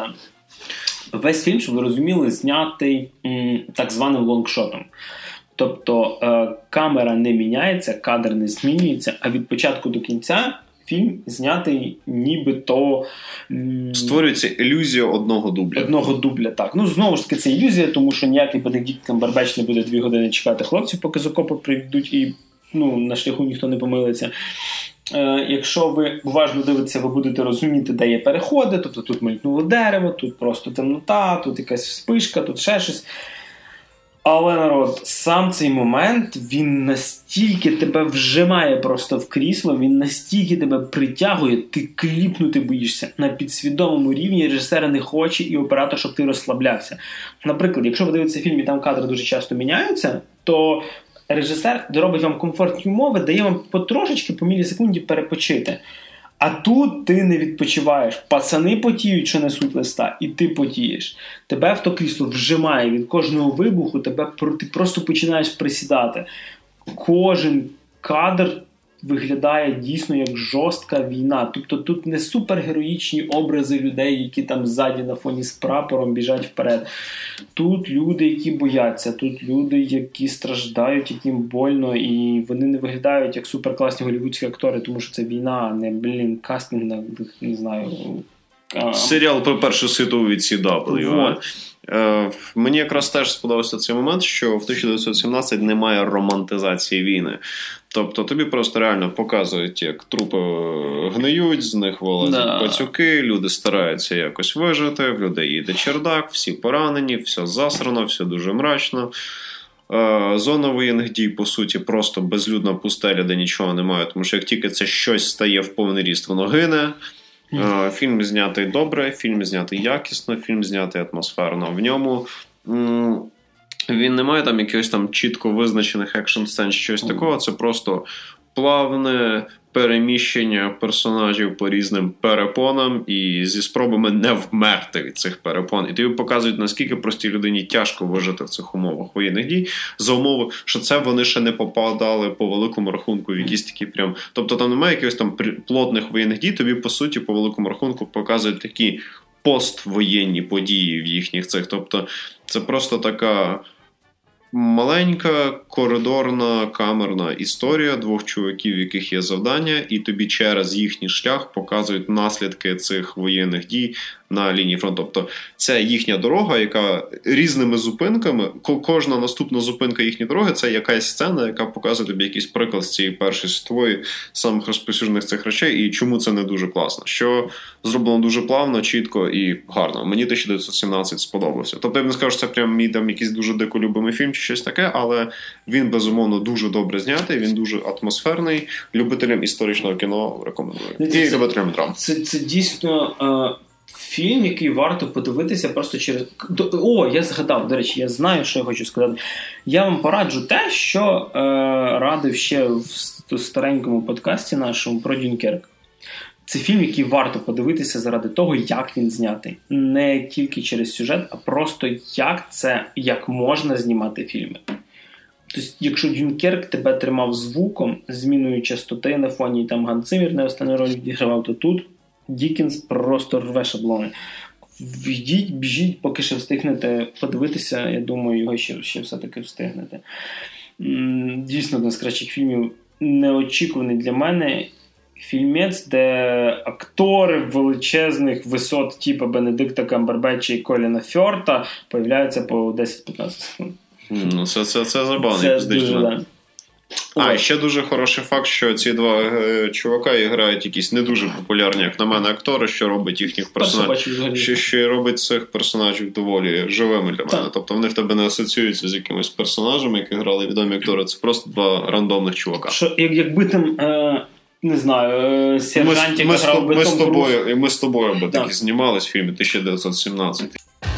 Весь фільм, щоб ви розуміли, знятий так званим лонгшотом. Тобто камера не міняється, кадр не змінюється, а від початку до кінця фільм знятий нібито... Створюється ілюзія одного дубля. Одного дубля, так. Знову ж таки, це ілюзія, тому що ніякий Бенедикт Камбербетч не буде 2 години чекати хлопців, поки з окопу прийдуть і на шляху ніхто не помилиться. Якщо ви уважно дивитеся, ви будете розуміти, де є переходи, тобто тут мелькнуло дерево, тут просто темнота, тут якась вспишка, тут ще щось. Але, народ, сам цей момент, він настільки тебе вжимає просто в крісло, він настільки тебе притягує, ти кліпнути боїшся. На підсвідомому рівні режисер не хоче і оператор, щоб ти розслаблявся. Наприклад, якщо ви дивитеся фільм і там кадри дуже часто міняються, то режисер робить вам комфортні умови, дає вам потрошечки, по мілісекунді перепочити. А тут ти не відпочиваєш. Пацани потіють, що несуть листа, і ти потієш. Тебе в то крісло вжимає від кожного вибуху, ти просто починаєш присідати. Кожен кадр виглядає дійсно як жорстка війна. Тобто тут не супергероїчні образи людей, які там ззаді на фоні з прапором біжать вперед. Тут люди, які бояться, тут люди, які страждають, яким больно, і вони не виглядають як суперкласні голівудські актори, тому що це війна, а не, кастинг на, не знаю... Серіал про Першу світову від CW. Мені якраз теж сподобався цей момент, що в 1917 немає романтизації війни. Тобто тобі просто реально показують, як трупи гниють, з них вилазять пацюки, люди стараються якось вижити, в людей їде чердак, всі поранені, все засрано, все дуже мрачно. Зона воєнних дій, по суті, просто безлюдна пустеля, де нічого немає, тому що як тільки це щось стає в повний ріст, воно гине. Фільм знятий добре, фільм знятий якісно, фільм знятий атмосферно. В ньому він не має там якихось там чітко визначених екшн-сцен, щось такого. Це просто плавне переміщення персонажів по різним перепонам і зі спробами не вмерти від цих перепон. І тобі показують, наскільки простій людині тяжко вижити в цих умовах воєнних дій, за умови, що це вони ще не попадали по великому рахунку в якісь такі прям... Тобто там немає якихось там плотних воєнних дій, тобі, по суті, по великому рахунку показують такі поствоєнні події в їхніх цих. Тобто це просто така... маленька, коридорна, камерна історія двох чуваків, в яких є завдання, і тобі через їхній шлях показують наслідки цих воєнних дій на лінії фронту. Тобто це їхня дорога, яка різними зупинками, кожна наступна зупинка їхньої дороги – це якась сцена, яка показує тобі якийсь приклад з цієї Першої світової, самих розповсюджених цих речей, і чому це не дуже класно. Що зроблено дуже плавно, чітко і гарно. Мені 1917 сподобався. Тобто я б не скажу, що це прям мій там якийсь дуже дико любимий фільм чи щось таке, але він, безумовно, дуже добре знятий, він дуже атмосферний. Любителям історичного кіно рекомендую. І любителям драм. Це дійсно... фільм, який варто подивитися просто через... О, я згадав, до речі, я знаю, що я хочу сказати. Я вам пораджу те, що радив ще в старенькому подкасті нашому про Дюнкерк. Це фільм, який варто подивитися заради того, як він знятий. Не тільки через сюжет, а просто як можна знімати фільми. Тобто, якщо Дюнкерк тебе тримав звуком, зміною частоти на фоні, і там Ганс Циммер не останню роль відігравав, то тут Діккенс просто рве шаблони. Йдіть, біжіть, поки ще встигнете подивитися. Я думаю, його ще все-таки встигнете. Дійсно, один з кращих фільмів, неочікуваний для мене фільмець, де актори величезних висот типу Бенедикта Камбербетча і Коліна Фьорта появляються по 10-15 секунд. Ну, це забавно. Це дуже, да. І ще дуже хороший факт, що ці два чувака грають якісь не дуже популярні, як на мене, актори, що робить їхніх персонажів, що робить цих персонажів доволі живими для мене. Тобто вони в тебе не асоціюються з якимись персонажами, які грали відомі актори. Це просто два рандомних чувака. Що, якби там, не знаю, сержантів грав би Том Круз. Ми з тобою би такі знімались в фільмі 1917.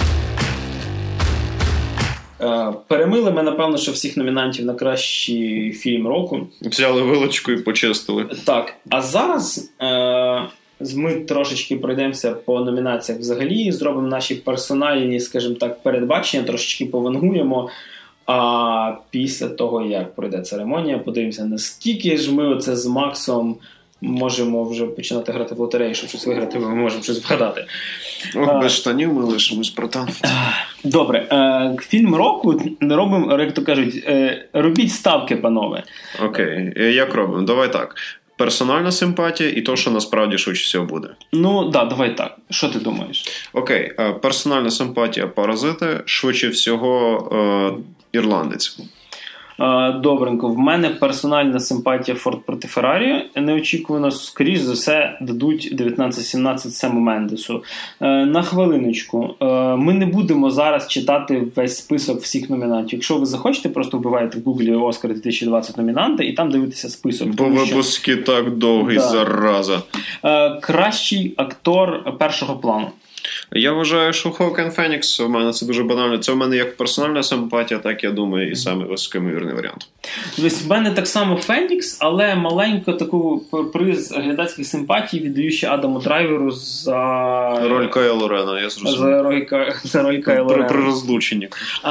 Перемили ми, напевно, що всіх номінантів на кращий фільм року. Взяли вилочку і почистили. Так. А зараз ми трошечки пройдемося по номінаціях взагалі, зробимо наші персональні, скажімо так, передбачення, трошечки повангуємо. А після того, як пройде церемонія, подивимося, наскільки ж ми оце з Максом можемо вже починати грати в лотерею, щоб щось виграти, ми можемо щось вгадати. Без штанів ми лишимось, братан. Добре. Фільм року робимо, як то кажуть, робіть ставки, панове. Окей. Як робимо? Давай так. Персональна симпатія і то, що насправді швидше всього буде. Ну, да, давай так. Що ти думаєш? Окей. Персональна симпатія Паразити, швидше всього Ірландець. Добренько. В мене персональна симпатія Форд проти Феррарі. Неочікувано, скоріш за все, дадуть 1917 Сему Мендесу. На хвилиночку. Ми не будемо зараз читати весь список всіх номінантів. Якщо ви захочете, просто вбиваєте в Гуглі «Оскар 2020 номінанти» і там дивитеся список. Бо випуски так довгий, зараза. Кращий актор першого плану. Я вважаю, що Хоакін Фенікс, у мене це дуже банально. Це в мене як персональна симпатія, так, я думаю, і саме високомірний варіант. Тобто, в мене так само Фенікс, але маленько таку приз глядацьких симпатій віддаю ще Адаму Драйверу за... Роль Кайло Рена, я зрозумів. За роль Кайло Рена. При розлученні.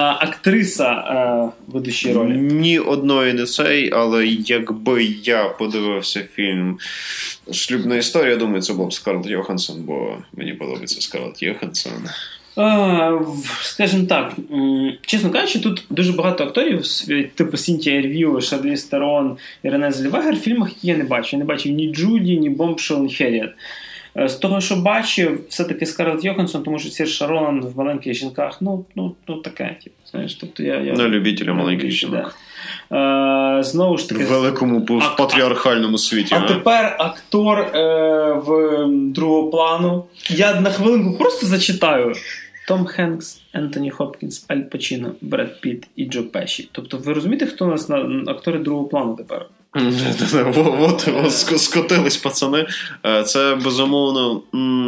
Актриса ведучої ролі. Ні одної не цей, але якби я подивився фільм «Шлюбна історія», я думаю, це був Скарлетт Йоханссон, бо мені подобається Скарлетт Йоханссон. Скажімо так, чесно кажучи, тут дуже багато акторів, типу Сінтія Ервіо, Шарліз Терон і Рене Зельвегер, в фільмах, які я не бачив. Я не бачив ні Джуді, ні Бомбшел, ні Херріет. З того, що бачив, все-таки Скарлетт Йоханссон, тому що Сірша Роланд в «Маленьких жінках», ну таке, типу, знаєш, тобто я на любителя маленьких жінок. Знову ж таки, в великому патріархальному світі. А тепер актор в другого плану. Я на хвилинку просто зачитаю. Том Хенкс, Ентоні Хопкінс, Аль Пачіно, Бред Пітт і Джо Пеші. Тобто ви розумієте, хто у нас актори другого плану тепер? От скотились пацани. Це безумовно.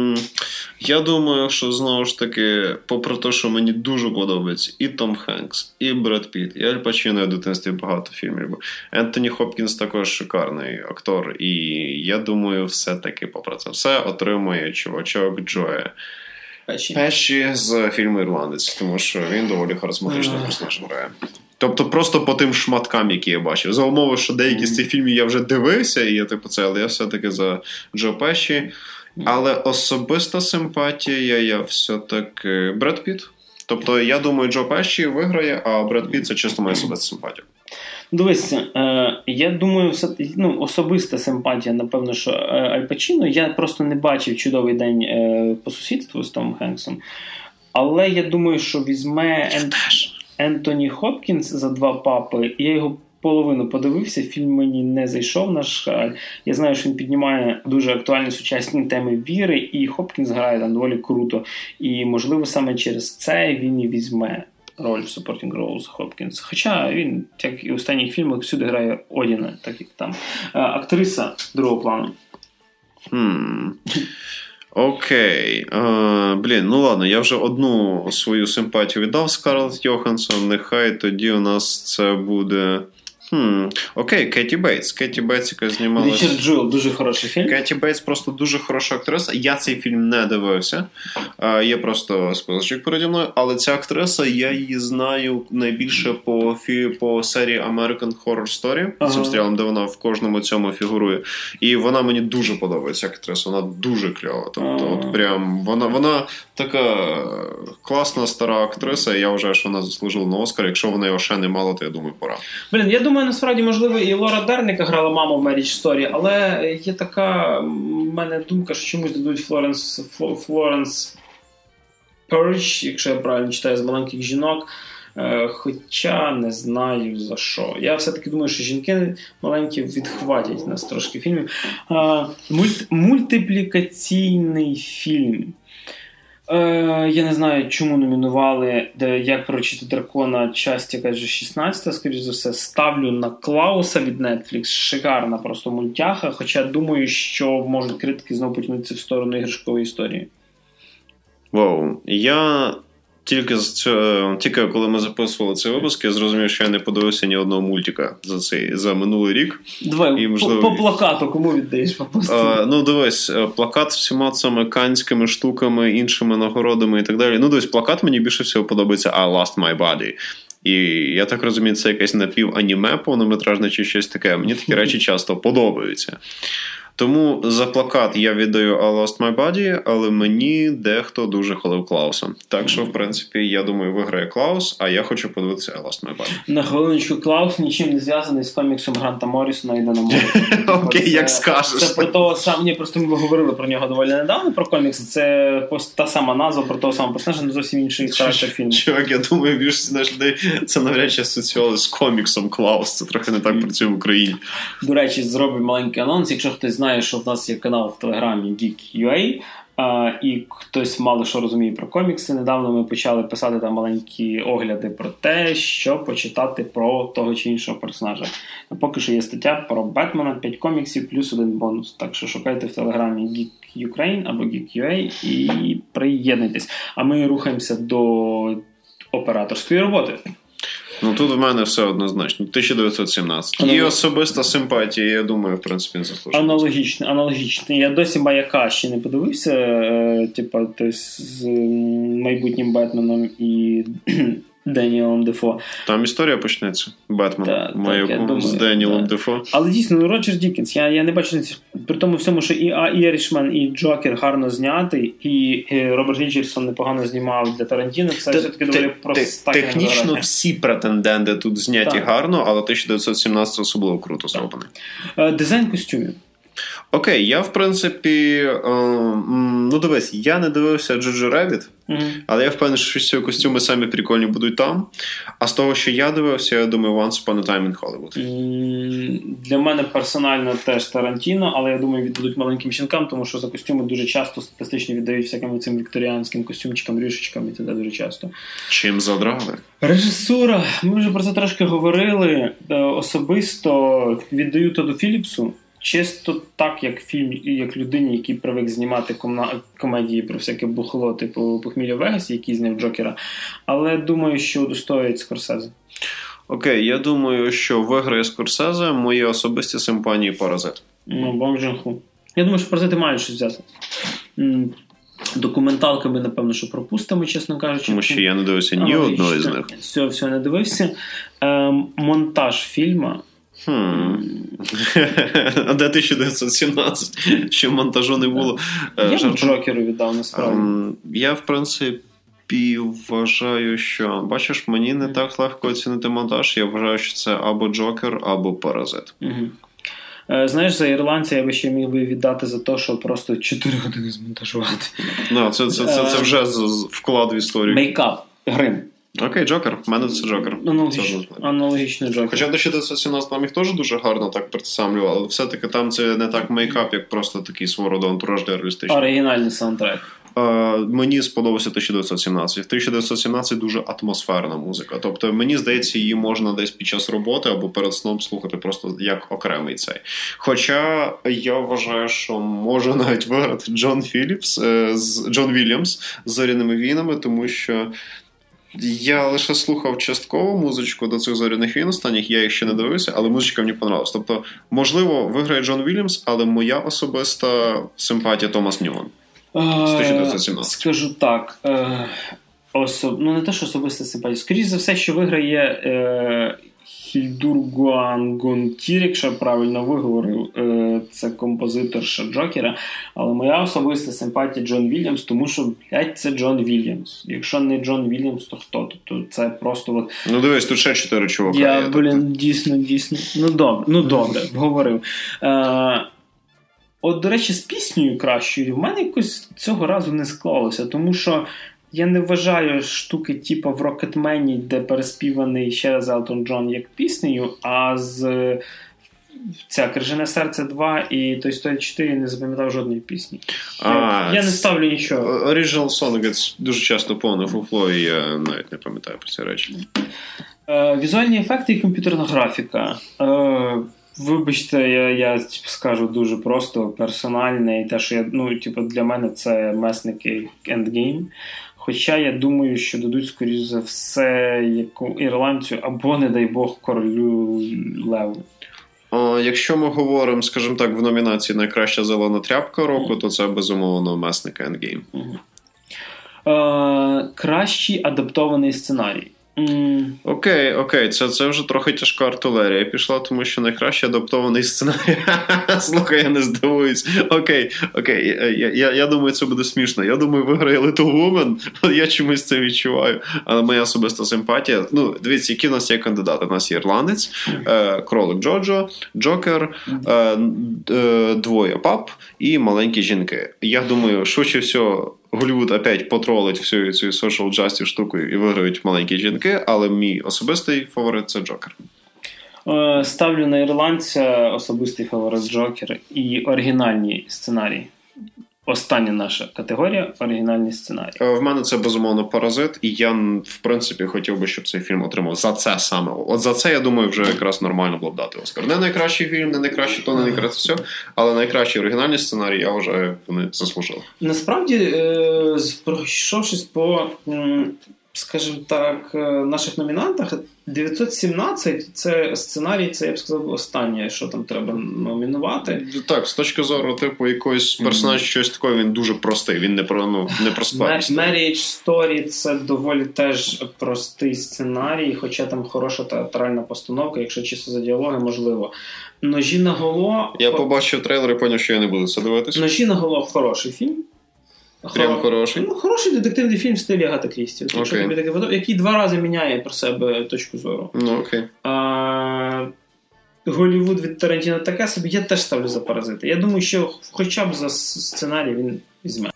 Я думаю, що знову ж таки, попри те, що мені дуже подобається і Том Хенкс, і Бред Пітт, і Аль Пачіно, я в дитинстві багато фільмів. Ентоні Хопкінс також шикарний актор. І я думаю, все-таки попри це все отримує чувачок Джоя Пеші з фільму «Ірландець», тому що він доволі харизматичний персонаж грає. Тобто просто по тим шматкам, які я бачив. За умови, що деякі з цих фільмів я вже дивився, і я типу це, але я все-таки за Джо Пеші. Але особиста симпатія, я все-таки Бред Пітт. Тобто, я думаю, Джо Пеші виграє, а Бред Пітт – це чисто моя особиста симпатія. Дивися, я думаю, особиста симпатія, напевно, що Аль Пачіно. Я просто не бачив «Чудовий день по сусідству» з Томом Хенксом. Але я думаю, що візьме Ентоні Хопкінс за «Два папи». Я його половину подивився, фільм мені не зайшов, на жаль. Я знаю, що він піднімає дуже актуальні сучасні теми віри, і Хопкінс грає там доволі круто. І, можливо, саме через це він і візьме роль в Supporting Roles Хопкінс. Хоча він, як і в останніх фільмах, всюди грає Одіна, так як там. Актриса другого плану. Окей. Ну ладно, я вже одну свою симпатію віддав Скарлетт Йоханссон. Нехай тоді у нас це буде... Окей, Кеті Бейтс. Кеті Бейтс, яка знімалася... Річард Джуел, дуже хороший фільм. Кеті Бейтс просто дуже хороша актриса. Я цей фільм не дивився. Є просто списочок переді мною. Але ця актриса, я її знаю найбільше по серії American Horror Story. Цим серіалом, де вона в кожному цьому фігурує. І вона мені дуже подобається, актриса. Вона дуже кльова. Тобто, от прям... Вона така класна стара актриса. І я вважаю, що вона заслужила на Оскар. Якщо вона його ще не мала, то я думаю, пора. Я думаю, насправді, можливо, і Лора Дерн, яка грала маму в Marriage Story, але є така в мене думка, що чомусь дадуть Флоренс Пёрч, якщо я правильно читаю, з «Маленьких жінок», хоча не знаю за що. Я все-таки думаю, що жінки маленькі відхватять нас трошки фільмів. Мультиплікаційний фільм. Я не знаю, чому номінували «Як приручити дракона», часть, яка вже 16-та, скоріш за все. Ставлю на Клауса від Netflix. Шикарна просто мультяха, хоча думаю, що можуть критики знову потягнутися в сторону іграшкової історії. Вау. Я тільки коли ми записували цей випуск, я зрозумів, що я не подивився ні одного мультика за минулий рік. Давай, можливо... по плакату кому віддаєш? Ну, дивись, плакат всіма цими канськими штуками, іншими нагородами і так далі. Ну, дивись, плакат мені більше всього подобається I Lost My Body. І я так розумію, це якесь напів-аніме повнометражне чи щось таке. Мені такі речі часто подобаються. Тому за плакат я віддаю I Lost My Body, але мені дехто дуже хвалив Клауса. Так що, в принципі, я думаю, виграє Клаус, а я хочу подивитися I Lost My Body. На хвилиночку, Клаус нічим не зв'язаний з коміксом Гранта Моррісона «Йде на море». Окей, як скажеш. Це про того самого, просто ми говорили про нього доволі недавно, про комікс. Це та сама назва про того самого персонажа, але зовсім інший характер фільму. Чувак, я думаю, більшість людей це навряд чи асоціювали з коміксом Клаус. Це трохи не так працює в Україні. До речі, зробимо маленький анонс. Якщо хтось знає, що в нас є канал в Телеграмі Geek.ua, і хтось мало що розуміє про комікси, недавно ми почали писати там маленькі огляди про те, що почитати про того чи іншого персонажа. Поки що є стаття про Бетмена, 5 коміксів плюс 1 бонус. Так що шукайте в Телеграмі Geek Ukraine або Geek.ua і приєднуйтесь. А ми рухаємося до операторської роботи. Ну, тут в мене все однозначно. 1917. І особиста симпатія, я думаю, в принципі, не заслужена. Аналогічно. Я досі «Маяка» ще не подивився, з майбутнім Бетменом і Деніелом Дефо. Там історія почнеться. Бетмен, Маяку з Деніелом Дефо. Але дійсно, Роджер Дікінс, я не бачу, при тому всьому, що і Ірішмен, і Джокер гарно знятий, і Роберт Річардсон непогано знімав для Тарантіно, це все-таки доволі просто. Технічно всі претенденти тут зняті гарно, але 1917 особливо круто зроблений. Дизайн костюмів. Окей, я, в принципі, дивись, я не дивився Джоджо Ребіт, але я впевнений, що ці костюми самі прикольні будуть там. А з того, що я дивився, я думаю, Once Upon a Time in Hollywood. Для мене персонально теж Тарантіно, але я думаю, віддадуть маленьким щенкам, тому що за костюми дуже часто статистично віддають всяким цим вікторіанським костюмчикам, рюшечкам і це дуже часто. Чим задрали? Режисура. Ми вже про це трошки говорили. Особисто віддаю Тодду Філіпсу. Чисто так, як людині, який привик знімати комедії про всяке бухло, типу «Похмілля в Вегасі», який зняв Джокера. Але думаю, що удостоїть Скорсезе. Окей, я думаю, що виграє Скорсезе, мої особисті симпатії «Паразит». Бонг Джун-Хо. Я думаю, що «Паразити» мають щось взяти. Документалками, напевно, що пропустимо, чесно кажучи. Тому що я не дивився ні одного з них. Все не дивився. Монтаж фільму. А де 1917? Ще монтажу не було. Я б Джокеру віддав, насправді. Я, в принципі, вважаю, що... Бачиш, мені не так легко оцінити монтаж. Я вважаю, що це або Джокер, або Паразит. Знаєш, за ірландця я би ще міг би віддати за те, що просто 4 години змонтажувати. Це вже вклад в історію. Мейкап, грим. Окей, Джокер. В мене це Джокер. Аналогічно Джокер. Хоча до 1917 нам їх теж дуже гарно так представлював, але все-таки там це не так мейкап, як просто такий свого роду антураж реалістичний. Оригінальний саундтрек. Мені сподобався 1917. В 1917 дуже атмосферна музика. Тобто, мені здається, її можна десь під час роботи або перед сном слухати просто як окремий цей. Хоча я вважаю, що може навіть виграти Джон Вільямс з «Зоряними війнами», тому що я лише слухав частково музичку до цих «Зоряних війн» останніх, я їх ще не дивився, але музичка мені понравилась. Тобто, можливо, виграє Джон Вільямс, але моя особиста симпатія Томас Ньюман. Скажу так, не те, що особиста симпатія. Скоріше за все, що виграє Хільдур Гуангонтір, якщо я правильно виговорив, це композиторша Джокера, але моя особиста симпатія Джон Вільямс, тому що, це Джон Вільямс. Якщо не Джон Вільямс, то хто? Тобто це просто... дивись, тут ще 4 чувака. Дійсно. Добре, вговорив. До речі, з піснею кращою в мене якось цього разу не склалося, тому що я не вважаю штуки типу в «Рокетмені», де переспіваний ще раз Елтон Джон як піснею, а з «Крижане серце 2» і «Той Story 4» я не запам'ятав жодної пісні. Я не ставлю нічого. Original Song дуже часто повне фуфло, і я навіть не пам'ятаю про ці речі. Візуальні ефекти і комп'ютерна графіка. Вибачте, я скажу дуже просто, персональне, і те, що для мене це месники Endgame. Хоча я думаю, що дадуть, скоріш за все, ірландцю або, не дай Бог, королю Леву. Якщо ми говоримо, скажімо так, в номінації «Найкраща зелена тряпка року», то це, безумовно, месники Endgame. Кращий адаптований сценарій. Окей, це вже трохи тяжка артилерія пішла, тому що найкраще адаптований сценарій. Слухай, я не здивуюсь. Окей, я думаю, це буде смішно. Я думаю, виграє Little Woman, я чомусь це відчуваю. Але моя особиста симпатія... Дивіться, які в нас є кандидати. У нас є Ірландець, Кролик Джоджо, Джокер, Двоє пап і Маленькі жінки. Я думаю, швидше всього, Голлівуд опять потролить всю цю social justice штуку і виграють Маленькі жінки, але мій особистий фаворит – це Джокер. Ставлю на ірландця особистий фаворит Джокер і оригінальні сценарії. Остання наша категорія – оригінальні сценарії. В мене це, безумовно, «Паразит», і я, в принципі, хотів би, щоб цей фільм отримав за це саме. От за це, я думаю, вже якраз нормально було б дати Оскар. Не найкращий фільм, не найкраще то, не найкраще все, але найкращі оригінальні сценарії, я вважаю, вони заслужили. Насправді, пройшовшись по, скажімо так, наших номінантах, 917 – це сценарій, це, я б сказав, останнє, що там треба номінувати. Так, з точки зору, типу, якоїсь персонажа, щось таке, він дуже простий, він не про складність. Marriage Story – це доволі теж простий сценарій, хоча там хороша театральна постановка, якщо чисто за діалоги, можливо. «Ножі наголо». Я побачив трейлер і поняв, що я не буду це дивитися. «Ножі наголо» – хороший фільм. Прям хороший? Хороший детективний фільм в стилі Агати Крісті. Який 2 рази міняє про себе точку зору. Окей. Голлівуд від Тарантіно таке собі. Я теж ставлю за «Паразити». Я думаю, що хоча б за сценарій він візьме.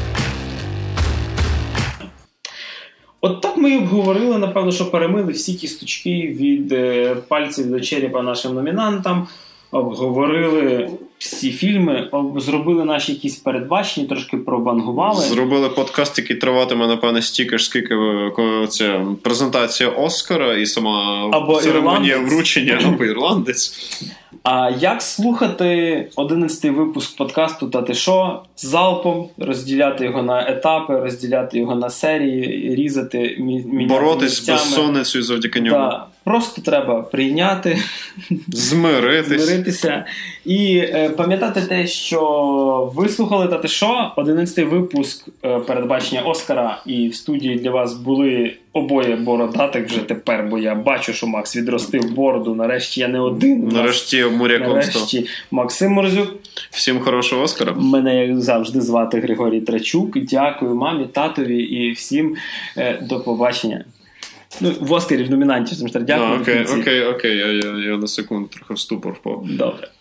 От так ми і обговорили, напевно, що перемили всі кісточки від пальців до черепа нашим номінантам. Обговорили всі фільми, зробили наші якісь передбачення, трошки провангували. Зробили подкаст, який триватиме, напевне, стільки ж, скільки ця презентація Оскара і сама церемонія вручення, або ірландець. А як слухати 11-й випуск подкасту «Та ти шо?» залпом, розділяти його на етапи, розділяти його на серії, різати, боротись з безсонницею завдяки ньому. Да. Просто треба прийняти, змиритися і пам'ятати те, що ви слухали «Та ти шо?» 11-й випуск передбачення Оскара, і в студії для вас були обоє бородатих вже тепер, бо я бачу, що Макс відростив бороду. Нарешті я не один. Нарешті моряком став. Нарешті Максим Морзюк. Всім хорошого Оскара. Мене, як завжди, звати Григорій Трачук. Дякую мамі, татові і всім до побачення. В Оскарі в номінанті. Дякую. Окей. Я на секунду трохи в ступор впав. Добре.